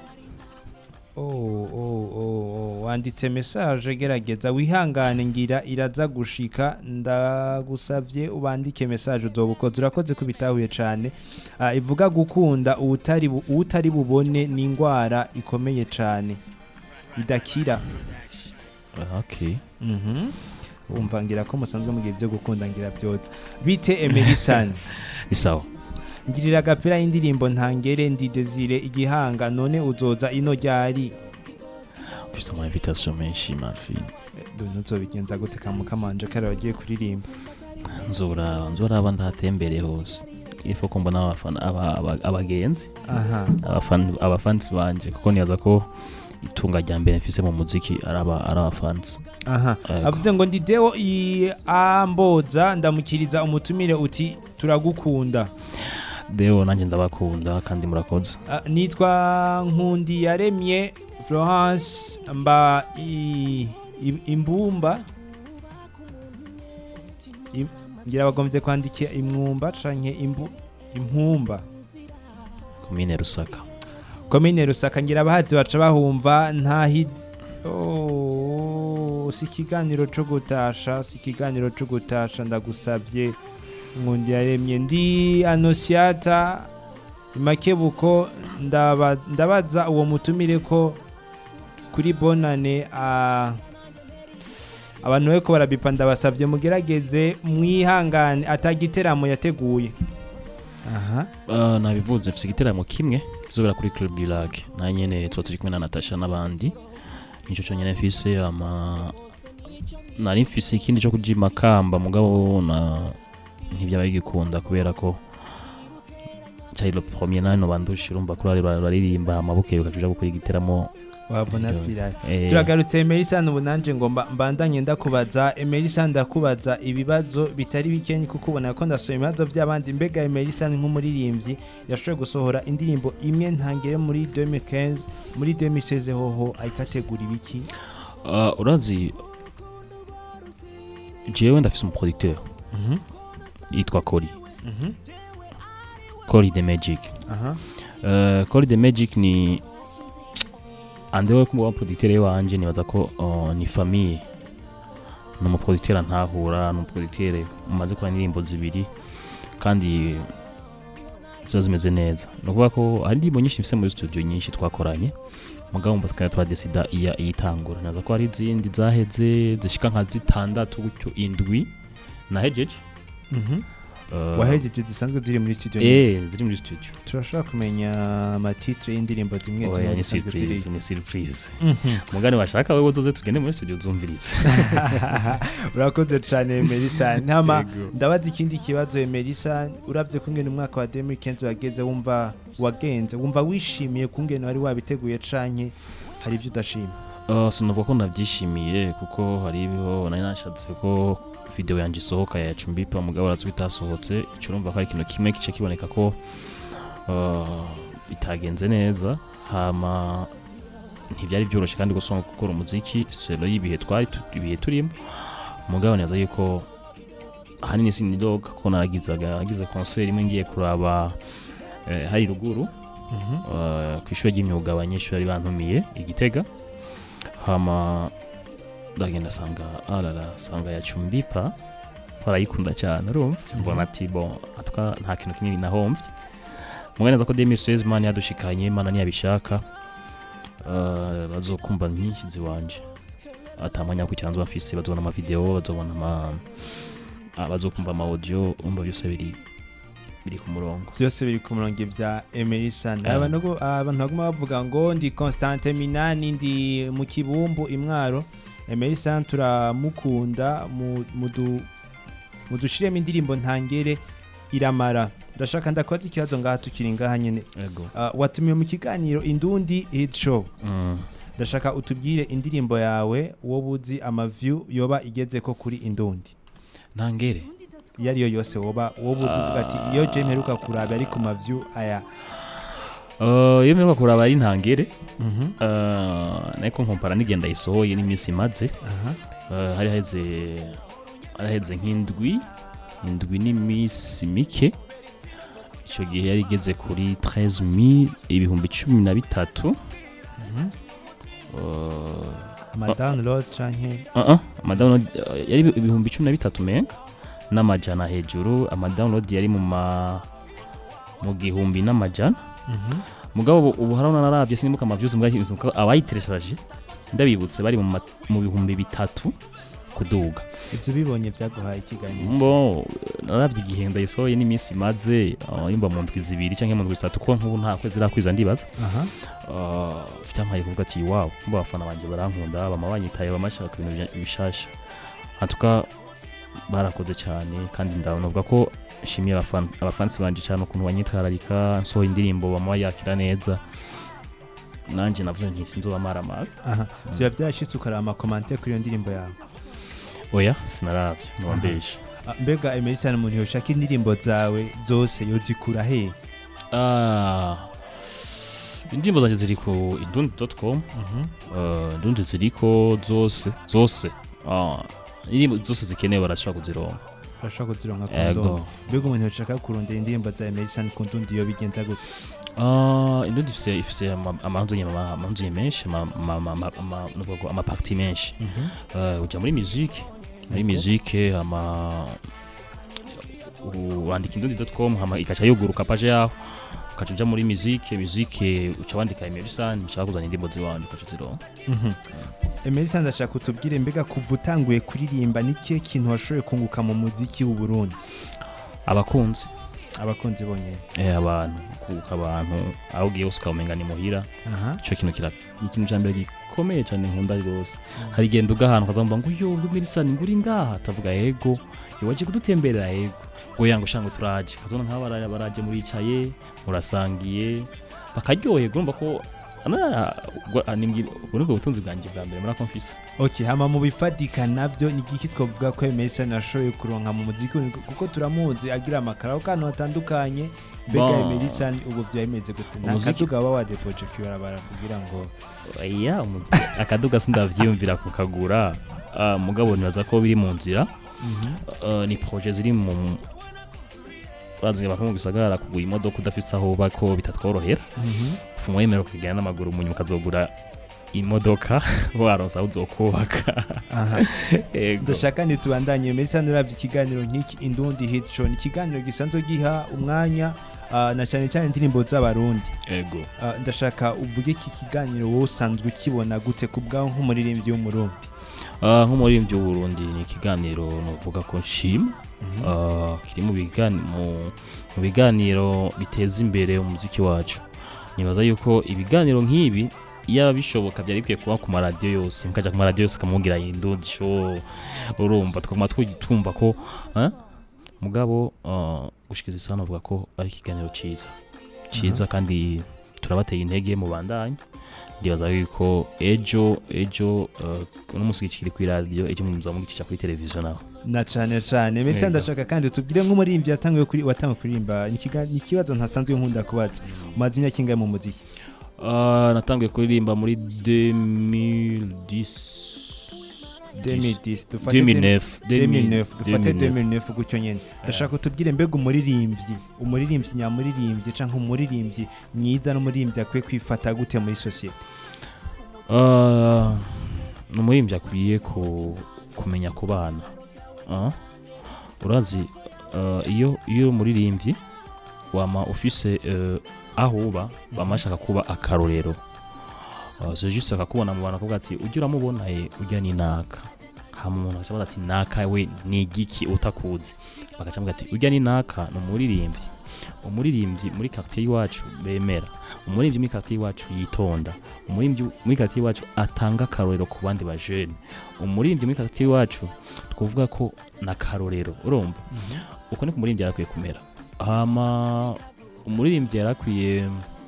wanditse message gerageza wihangane ngira iraza gushika ndagusavye ubandike message uzobukoze urakoze kubitahuye cyane ivuga gukunda utari bubone ni ingwara ikomeye cyane idakira okay umva ngira ko musanzwe mugiye byo gukunda ngira byotse bite Emerson isawa ngirira gapira y'indirimbo ntangere ndi Desire igihanga none uzoza ino ryari mfise ama invitation menshi marfin ntuzobigenza gute kamukamanje kare wagiye kuririmba nzora ndahatembere hose ifo ko mbona abafana abagenzi abafans banje kuko niyaza ko itunga rya mbere mfise mu muziki araba fans avuze ngo ndi Deo amboza ndamukiriza umutumire uti turagukunda Deo nanje ndabakunda kandi murakoze nitwa Nkundi yaremye Florence mba imbumba ngira bagomvye kwandika imwumba canke impumba komine Rusaka ngira abahazi baca bahumva si ikiganiro co gutasha ndagusabye Nkundi yaremye ndi Anosiata Makebuko ndabaza uwo mutumire ko kuri bonane abantu beko barabipa ndabasabye mugerageze mwihangane atagiteramo yateguye nabivuze mfise igiteramo kimwe kizobera kuri Club du Lac na nyene turi kumwe na Natasha n'abandi nico cyo nyene mfise nari mfise ikindi cyo kujima kamba mugabo ntibyabaye gikunda kubera ko cyari le premier nano bandushira urumva kuri baririmba amabuke ukajuja gukora igiteramo wabona fira turagarutse Emerisa n'ubunanje ngo mbandanye ndakubaza Emerisa ndakubaza ibibazo bitari bikenye kuko ubona ko ndasoye ibibazo by'abandi mbega Emerisa nk'umuririmbyi yashoboye gusohora indirimbo imwe ntangere muri 2015 muri 2016 hoho ayikategura ibiki urazi jewe ndafise umuproducteur yitwa Cory Cory the Magic Cory the Magic ni andewe kumwa producteur wanje nibaza ko ni famille no mu producteur ntahura no producteur umaze kwa indirimbo zibiri kandi zo zimeze neza no kuvuga ko ari indirimbo nyinshi mfise muri studio nyinshi twakoranye mugabo mbataka twadesida iyitangura naza ko ari izindi zaheze zishika nka zitandatu gutyo indwi nahejeje wahejeje zisanzwe ziri muri studio ziri muri studio turashaka kumenya amatitre y'indirimbo zimwe zimwe ni surprise mugani washaka wewe uzoze tugende muri studio zumviritse urakoze cyane Emerisa ntama ndabaza ikindi kibazo Emerisa uravye kungena umwaka wa 2015 wageze wumva wishimiye kungena wari wabiteguye canke hari ibyo udashima sinavuga ko nabyishimiye kuko hari ibiho nari nashatse ko video yanje sohoka ya Chumbipa mugabo arazwita sohotse cyurumva ko ari ikintu kimwe kice kiboneka ko bitagenze neza hama ntibyari byoroshe kandi gusonga gukora umuziki selo y'ibihe ibihe turimo mugabo neza yuko hanini sinidog ko naragize concert imwe ngiye kuraba hari ruguru kwishwe y'imyuga abanyeshuri bantumiye igitega hama ndagenda sanga ya Chumbipa barayikunda cyane urumva mbona ati bon atwa nta kintu kinini nahomvye muganeza ko 2016 man yadushikanye imana ntiyabishaka bazokumva nyinshi ziwanje atamanya ku cyanzo bafise bazobona ama video bazobona bazokumva ama audio umva byose biri ku murongo byose biri ku murongo bya Emerisa abantu baguma bavuga ngo ndi Constante Minani ndi mu Kibumbu Imwaro Emerisa turamukunda mudushiremo indirimbo ntangere iramara ndashaka ndakwaza ikibazo ngaha tukiri ngaha nyene watumiye mu kiganiro Indundi Hit Show ndashaka utubwire indirimbo yawe wo buzi amaview yoba igeze ko kuri Indundi ntangere yari yose woba buzi uvuga ati iyo je mperuka kuraba ari ku maview aya iyo mperuka kuraba ari ntangere nako nkompara nigenda isohoye n'iminsi maze hari heze nk'indwi n'iminsi mike icyo gihe yari igeze kuri 13,013 amadownload canke amadownload yari 13,013 menga n'amajana hejuru amadownload yari mu 1,000 mugabo ubu harona naravye sinimuka amaviews mbwa abayitereshaje ndabibutse bari mu 3,000 kuduga ivyo bibonye byaguhaye ikiganiro naravye igihe ndayisohoye n'iminsi maze yumva mu ndwi zibiri canke mu ndwi zitatu ko nk'ubu nta kwezi rakwiza ndibaza mfite amaye kuvuga ati wow mba abafana banje barankunda bama banyitaye bamashaka ibintu bishasha hatuka barakoze cyane kandi ndavuga ko shimiye abafansi banje cyane ukuntu banyitararika nsohoye indirimbo bama yakira neza nanje navuze nti sinzobamara amazi bya byashitse ukarama comment kuri iyo ndirimbo yawe oya sinaravye nobambesha mbega Emerson umuntu yoshaka indirimbo zawe zose yozikura he indirimbo zanje ziri ku indundi.com indundi ziriko zose indirimbo zose zikenewe barashaka kuzironka kondo mbega umuntu yoshaka kurondera indirimbo za Emerson ku ndundi yo bigenza gute indundi ifise amahanduye menshi ama partie menshi uja muri musique wandika indundi.com ikaca yuguruka page yaho ukaca uja muri musique uca wandika Emerson ushaka kuzana indirimbo ziwanje ukaca zironka Emerson ndashaka utubwire mbega kuva utanguye kuririmba niki kintu washoboye kunguka mu muziki w'u Burundi abakunzi bonyene abantu kuka abantu aho ugiye usukamenga ni muhira ico kintu ikintu cyambere gikomeye cyane nkunda rwose hari genda ugahantu kazamba ngo yo Emerson nguri ngaha tavuga yego iwaje kudutemberera yego ngo yango shango turaje kazona nk'abara baraje muri icaye murasangiye bakaryoye gomba ko ubwo butunzi bwanjye bwa mbere muri konfisa hama mu bifadika nabyo ni giki twavuga ko Emerson ashoboye kuronka mu muziki kuko turamuzi agira amakaraho kandi atandukanye mbega Emerson ubu byameze gute nta kaduga baba wadepoje kibarabara kugira ngo oya akaduga sindavyiyumvira kukagura mugabo nibaza ko biri mu nzira ni projet ziri mu bazinga bakungu gisagara kugura imodoka udafite aho bako bitatworohera fumwe yemera kugenda n'amaguru mu nyuma kazogura imodoka waronsa uzokubaka ndashaka nitubandanye Emerson uravye ikiganiro nk'iki Indundi Hit Show ikiganiro gisanzwe giha umwanya na cyane cyane indirimbo z'abarundi yego ndashaka uvuge iki kiganiro wowe usanzwe ukibona gute kubgaho nk'umuririmbyi w'umurundi nk'umuririmbyi w'uburundi ni ikiganiro novuga ko nshima kiri mu biganiro biteza imbere umuziki wacu nibaza yuko ibiganiro nk'ibi yaba bishoboka byari bikwiye kuba ku maradiyo yose mukaja ku maradiyo yose kamugira Indundi Show urumva twumva ko mugabo gushikiza isano avuga ko ari ikiganiro ciza kandi turabateye intege mu bandanye ndibaza yuko ejo n'umusiki kiri ku radio ejo muza mugicisha kuri televiziyo naho na cyane Emerson ndashaka kandi tubwire nk'umuririmbyi watanguye kuririmba ni kibazo ntasanzwe nkunda kubaza umaze imyaka ingahe mu muziki natanguye kuririmba muri 2009 dufate 2009 gutyo nyene ndashaka utubwire mbega umuririmbyi nyamuririmbyi canke umuririmbyi mwiza n'umuririmbyi akwiye kwifata gute muri societe umuririmbyi akwiye kumenya kubana urazi iyo umuririmbyi wama ufise aho uba bamashaka kuba akarorero c'est juste akakubona mu bantu kuvuga ati ujya uramubona ujya ni naka hama umuntu acabaza ati naka we ni igiki utakuzi bagacamuga ati ujya ni naka no umuririmbyi muri quartier iwacu bemera umuririmbyi muri quartier iwacu yitonda umuririmbyi muri quartier iwacu atanga karorero ku bandi ba jeune umuririmbyi muri quartier iwacu tkuvuga ko na karorero urumva uko ni kumuririmbyi yarakwiye kumera hama umuririmbyi yarakwiye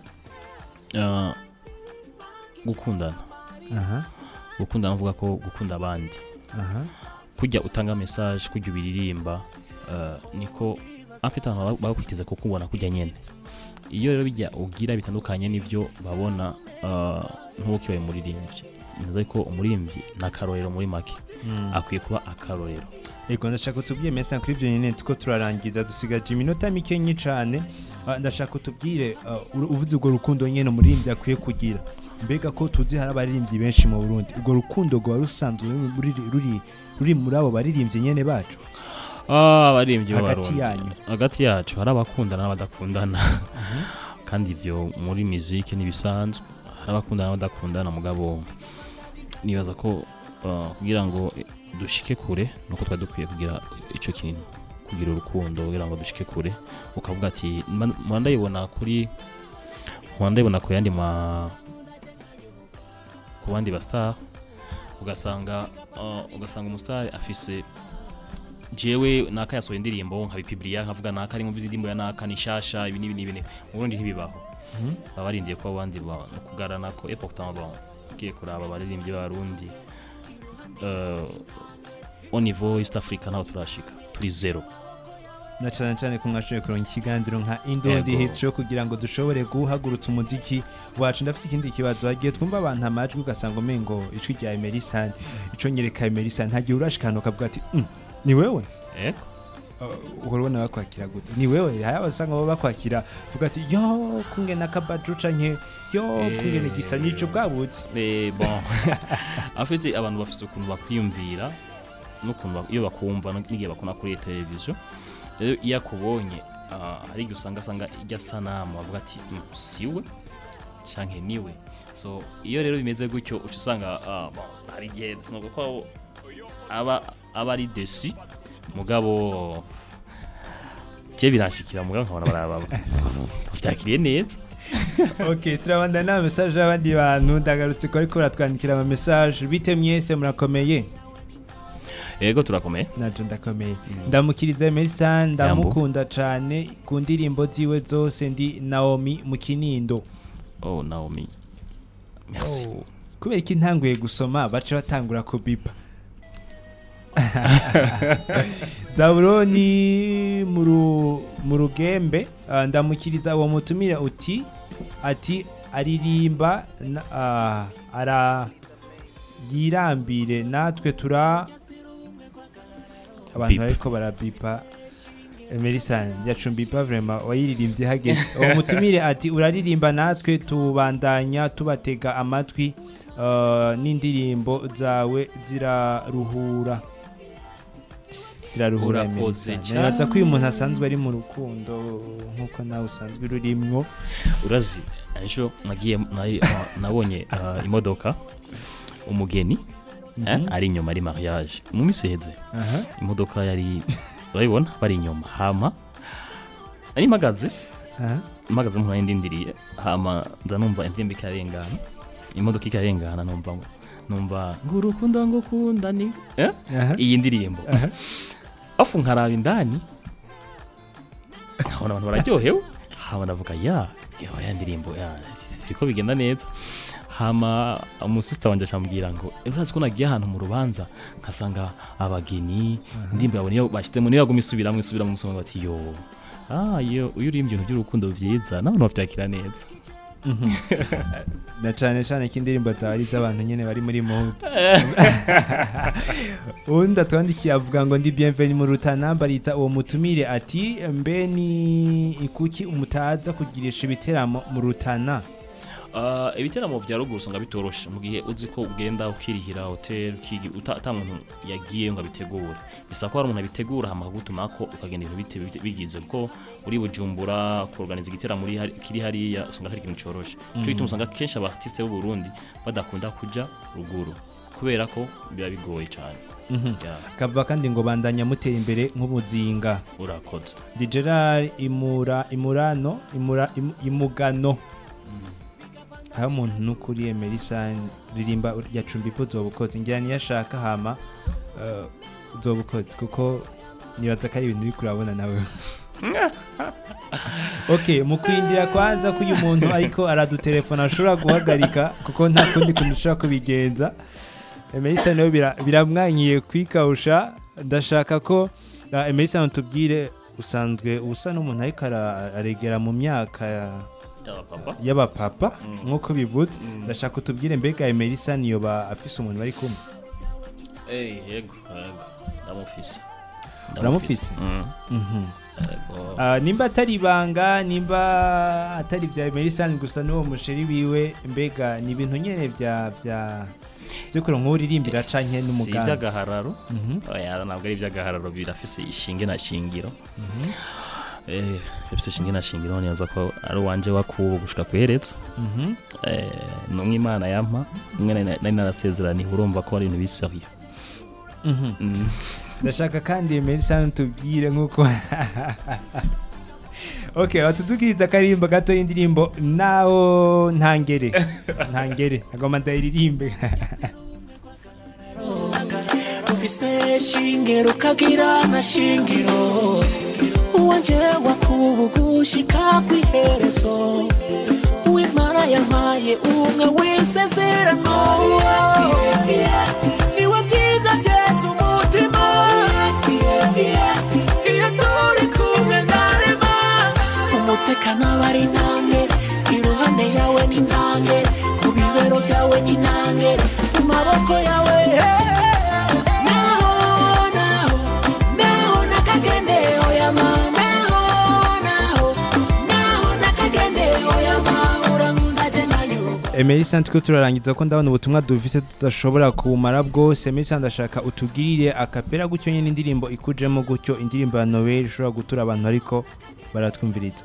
gukundana gukundana uvuga ko gukunda abandi kujya utanga message kujya ubiririmba niko afite abantu bakwitiza ko kubona kujya nyene iyo rero bijya ugira bitandukanye n'ivyo babona nk'uko yo muririmbyi nzi ko umuririmbyi na karorero muri make akwiye kuba akarorero ego ndashaka tubwiye Emerson kuri ivyo nyene tuko turarangiza dusigaje iminota mike cyane ndashaka tubwire uvuze ubwo rukundo nyene umuririmbyi akwiye kugira mbega ko tuzi hari abaririmbyi benshi mu Burundi ubwo rukundo rwa rusanzwe ruri muri abo baririmbyi nyene bacu abaririmbyi b'abarundi hagati yacu hari abakundana n'abadakundana kandi ivyo muri musique nibisanzwe hari abakundana n'abadakundana mugabo nibaza ko kugira ngo dushike kure nuko twadukwiye kugira ico kintu kugira urukundo kugira ngo dushike kure ukavuga ati mwandayibona ku yandi ku bandi ba star ugasanga umustar afise jewe naka yasohoye indirimbo nkabipiblia nkavuga naka ari mu bizindimbo ya naka nishasha ibi mu Burundi ntibibaho babarindiye ko abandi kugarana ko pourtant kiye kuraba abaririmbyi b'abarundi au niveau East Africa naho turashika turi zero na cyane ko mwashoboye kuronka ikiganiro nka Indundi Hit Show kugira ngo dushobore guhagurutsa umuziki wacu. Ndafite ikindi kibazo hagiye twumva abantu amajwi ugasanga umengo icwi rya Emerson ico nyereka Emerson ntagiye urashikana ukavuga ati ni wewe urabona bakwakira gute ni wewe haya basanga baba bakwakira vuga ati yo kungena kabaju canke yo kungena gisa nico bwabutse bon afite abantu bafite ukuntu bakwiyumvira n'ukuntu iyo bakumva n'igihe bakona kuri televiziyo rero iyo akubonye hari igihe usanga ijya sanamu bavuga ati siwe canke niwe so iyo rero bimeze gutyo uca usanga hari igihe nuko ko aba ari desi mugabo je birashikira mugabo nkabona baraba byakiriye neza. Okay, turabanda na message y'abandi bantu ndagarutse ko ariko ratwandikira ama message bite mwese murakomeye. Yego turakomeye. Naje ndakomeye. Ndamukiriza Emerson ndamukunda cyane ku ndirimbo ziwe zose ndi Naomi mu Kinindo. Oh Naomi. Merci. Kubera iki ntanguye gusoma bace batangura kubipa. Zaburoni mu rugembe ndamukiriza uwo mutumire ati aririmba yirambire natwe abantu ariko barabipa Emerson yacumbipa vraiment wayiririmbye hageze uwo mutumire ati uraririmba natwe tubandanya tubatega amatwi n'indirimbo zawe ziraruhura Nibaza ko uyu muntu asanzwe ari mu rukundo nkuko nawe usanzwe rurimwo urazi ejo nabonye imodoka umugeni ari inyuma ari mariage mu miseheze imodoka yari urabibona bari inyuma hama ari magaze mu ndindiriye hama ndanumva indirimbo ikarengana imodoka ikarengana numva ngurukundo ngukunda ni iyi ndirimbo afu nkaraba indani nkabona abantu bararyohewe hama navuga ya ndirimbo biriko bigenda neza hama umusista wanje acambwira ngo urazi ko nagiye ahantu mu rubanza nkasanga abageni indirimbo yabone yo bashitemo niyo yaguma isubira mu musonga bati yo uyu urimbye ibintu by'urukundo vyiza n'abantu bavyakira neza na cyane kindirimbo zawe z'abantu nyene bari muri mood unda twandikiye avuga ngo ndi bienvenue mu Rutana mbariza uwo mutumire ati mbe ni ikuki umutaza kugirisha ibiteramo mu Rutana ibiteramo vya ruguru usanga bitoroshe mu gihe uzi ko ugenda ukirihira hotel ata muntu yagiye ngo abitegure bisa ko hari umuntu abitegura hama gutuma ko ukagenda ibintu bigize ko uri Bujumbura kuorganiza igiteramo kiri hariya usanga hari ikintu coroshe cyo gituma usanga kenshi aba artiste b'u Burundi badakunda kuja ruguru kubera ko biba bigoye cyane kava kandi ngo bandanya mutera imbere nk'ubuzinga urakoze Gerard imugano aho umuntu n'ukuri Emerson ririmba yacumbipo zobukoze ngira niyashaka hama zobukoze kuko nibaza ko ari ibintu uri kurabona nawe Okay, mu kwindira kwanza ko uyu muntu ariko aradutelefona ashobora guhagarika kuko nta kundi kuntu ushaka kubigenza Emerson nawe biramwanyiye kwikawusha ndashaka ko Emerson tubwire usanzwe usa n'umuntu ariko aregera mu myaka y'abapapa nkuko bivutse ndashaka utubwire mbega Emerson yoba afise umuntu bari kumwe yego ndamufise nimba atari banga nimba atari bya Emerson gusa n'uwo musheri wiwe mbega ni ibintu nyene vya zikuru nk'uririmbira canke n'umuganda by'agahararo ntabwo ari by'agahararo birafise ishinge na shingiro bifise ishinge na shingiro neza ko ari wanje wakubo gushika kweretso numwe Imana yampa umwe nari narasezerani urumva ko ari ibintu biseriye ndashaka kandi Emerson tubwire nkuko Okay, watudukiriza karimba gato y'indirimbo naho ntangere agoma ndayiririmbe ufise shingiro kagira na shingiro uwanje wakubugushika kwiherezo uwimana yampaye umwe w'isezerano niwe byiza byese umutima iyo turi kumwe ndarema umutekano bari nange iruhande yawe ni nange ku bibero byawe ni nange mu maboko yawe Emerson tiko turarangiza ko ndabona ubutumwa dufise tudashobora kumara bwose. Emerson ndashaka utugirire akapera gutyo nyine indirimbo ikujemo gutyo indirimbo ya Noel ishobora gutura abantu ariko baratwumviriza.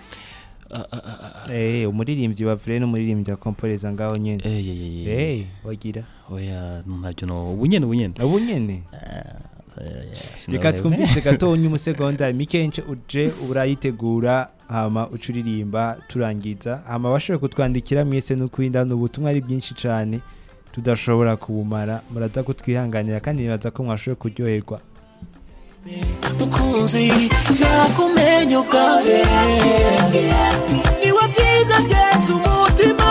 Umuririmbyi wa Vreno umuririmbyi akomporeza ngaho nyene. Wagira. Oya ntabyo no ubunyene. Reka twumvise gatonye umusegonda mikenche uje urayitegura hama ucuririmba turangiza hama bashoboye kutwandikira mwese no kwindana ubutumwa ari byinshi cyane tudashobora kubumara muraza kutwihanganira kandi nibaza ko mwashoboye kuryoherwa mukunzi nakumenye ubwawe niwe byiza byese umutima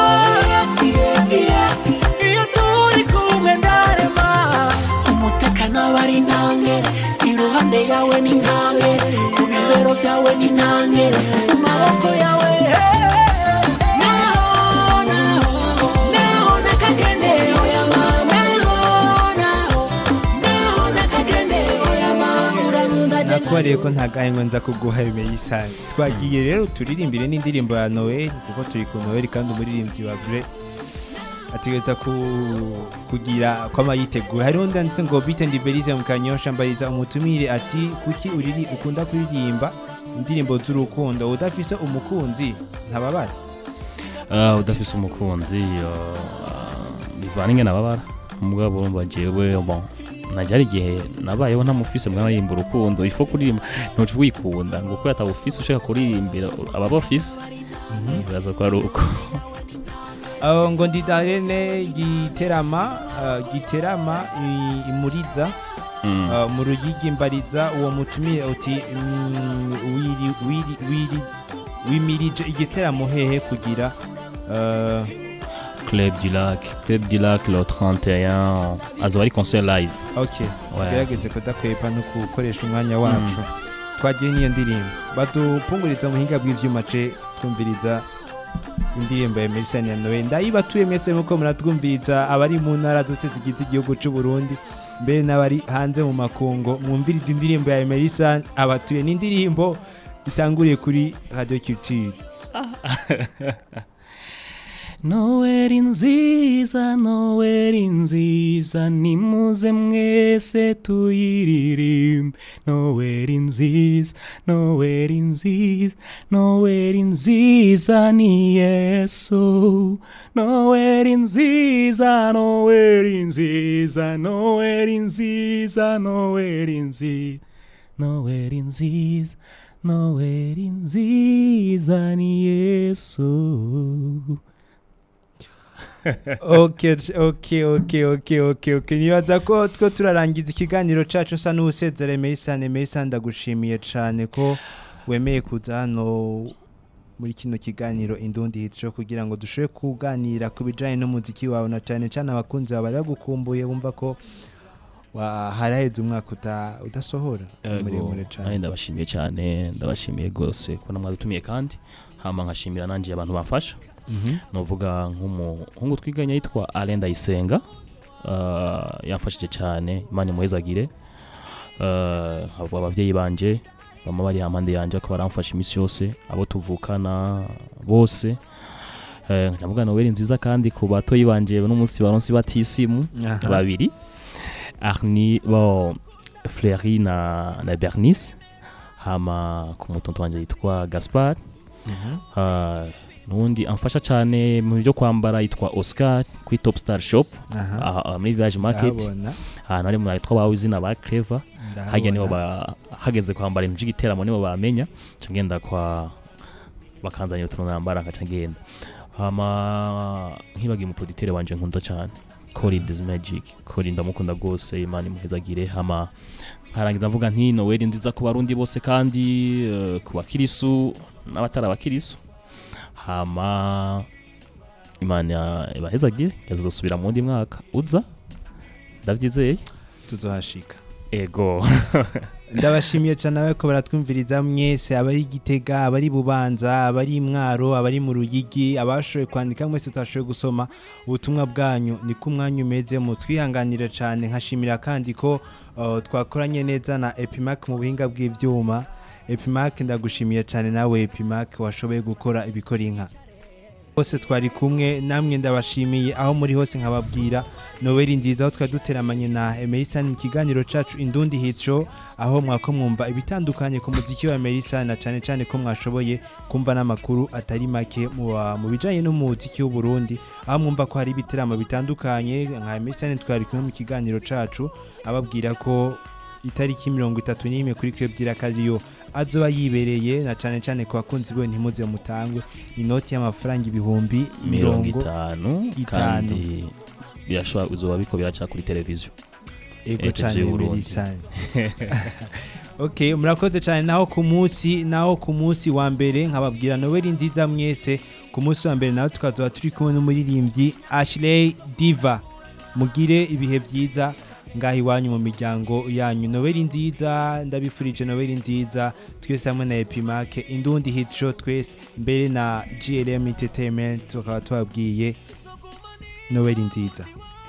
iyo turi kumwe ndarema umutekano bari nange iruhande yawe ni nange ku bibero byawe ni nange mu maboko yawe nakwariye ko ntagaye ngo nza kuguha Emerson twagiye rero turirimbire n'indirimbo ya Noel kuko turi ku Noel kandi umuririmbyi wa Bre ategeta kugira kwa mayitegura hari undi ndetse ngo Bite Ndiberize mu Kanyosha mbariza umutumire ati kuki ukunda kuririmba indirimbo z'urukundo udafise umukunzi ntababara udafise umukunzi bivange nababara umugabo urumva jewe bon najari gihe nabayeho ntamufise mwana yimba urukundo ifo kuririmba ntoje wikunda ngo ko yatabufise ushaka kuririmbira ababafise bibaza ko ari uko ngo ndidarene giterama imuriza mu ruyigi mbariza uwo mutumire uti wimirije igiteramo hehe kugira Club du Lac le 31 azori concert live. Okay. Gerageze kudakwepa no gukoresha umwanya wacu. Twagiye niyo ndirimbo. Badupunguriza muhinga bw'ivyuma ce twumviriza indirimbo ya Emerson ya Noel. Ndayibatuye mwese muko muratwumviriza abari mu ntara zose zigize igihugu cy'u Burundi. Mbere n'abari hanze mu makungo mwumviriza indirimbo ya Emerson abatuye n'indirimbo itanguriye kuri Radio Culture. Noeli nziza nimuze mwese tuyiririmbe Noeli nziza ni Yesu Noeli nziza ni Yesu. Okay. Nibaza ko two turarangiza ikiganiro cacu sa n'usezera Emerson ndagushimiye cyane ko wemeye kuza hano muri kino kiganiro Indundi Hit Show kugira ngo dushobore kuganira ku bijanye n'umuziki wawe na cyane abakunzi baba bagukumbuye bumva ko haraheze umwaka udasohora muremure cyane. Ndabashimiye gose ko namwadutumiye kandi hama nkashimira nanje abantu bamfasha. Novuga nk'umuhungu twiganya yitwa Alain Ndayisenga yamfashije cyane Imana imuhezagire havuga abavyeyi banje bama bari hamande yanje ko baramfasha imisi yose abo tuvukana bose ndavuga Noel nziza kandi ku batoyi banje n'umunsi baronsi batisimu babiri Arni Fleury na Bernice hama ku mutonto wanje yitwa Gaspard nundi amfasha cyane mu byo kwambara yitwa Oscar kuri Top Star Shop muri Village Market ahantu ari mu yitwa bawe izina ba Clever hajya nibo hageze kwambara imji giteramo nibo bamenya ngenda kwa bakanzanira utuntu nambara nkaca ngenda hama nkibagiye mu producteur wanje nkunda cyane Cory this magic Cory ndamukunda gose Imana imuhezagire hama harangiza mvuga nti Noel nziza ku barundi bose kandi ku bakirisu n'abatara bakirisu hama Imana ibahezagire yazosubira mu ndi mwaka uza ndavyizeye tuzohashika ego ndabashimiye cyane abako baratwumviriza mwese abari Gitega abari Bubanza abari Mwaro abari mu Ruyigi abashoye kwandika mwese tutashoye gusoma ubutumwa bwanyu ni ku mwanya umeze mu twihanganira cyane nkashimira kandi ko twakoranye neza na Epimac mu buhinga bw'ivyuma Epimac ndagushimiye cyane nawe Epimac washoboye gukora ibikora inka bose twari kumwe namwe ndabashimiye aho muri hose nkababwira Noel nziza aho twaduteramanye na Emerson mu kiganiro cacu Indundi Hit Show aho mwako mwumva ibitandukanye ku muziki wa Emerson na cyane ko mwashoboye kumva n'amakuru atari make mu bijanye n'umuziki w'u Burundi aho mwumva ko hari ibiteramo bitandukanye nka Emerson twari kumwe mu kiganiro cacu ababwira ko itariki 31 kuri Kwebdira Kariyo azoba yibereye na cyane ku bakunzi bo ntimuze mutangwe inoti y'amafaranga 50 kandi birashobora uzoba biko biraca kuri televiziyo ego cyane Emerson okay murakoze cyane naho ku munsi wa mbere nkababwira Noel nziza mwese ku munsi wa mbere naho tukazoba turi kumwe n'umuririmbyi Ashley Diva mugire ibihe byiza ngahi wanyu mu miryango yanyu Noel nziza ndabifurije Noel nziza twese hamwe na Epimac Indundi Hit Show twese mbere na GLM Entertainment tukaba twabwiye Noel nziza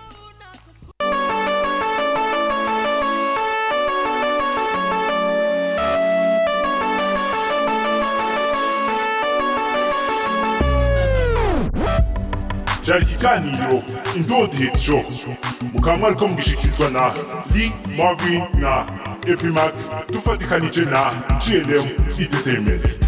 cyari ikiganiro Indundi Hit Show mukaba mwariko mugishikirizwa na Lee Marvin na Epimac dufatikanije na GLM Entertainment.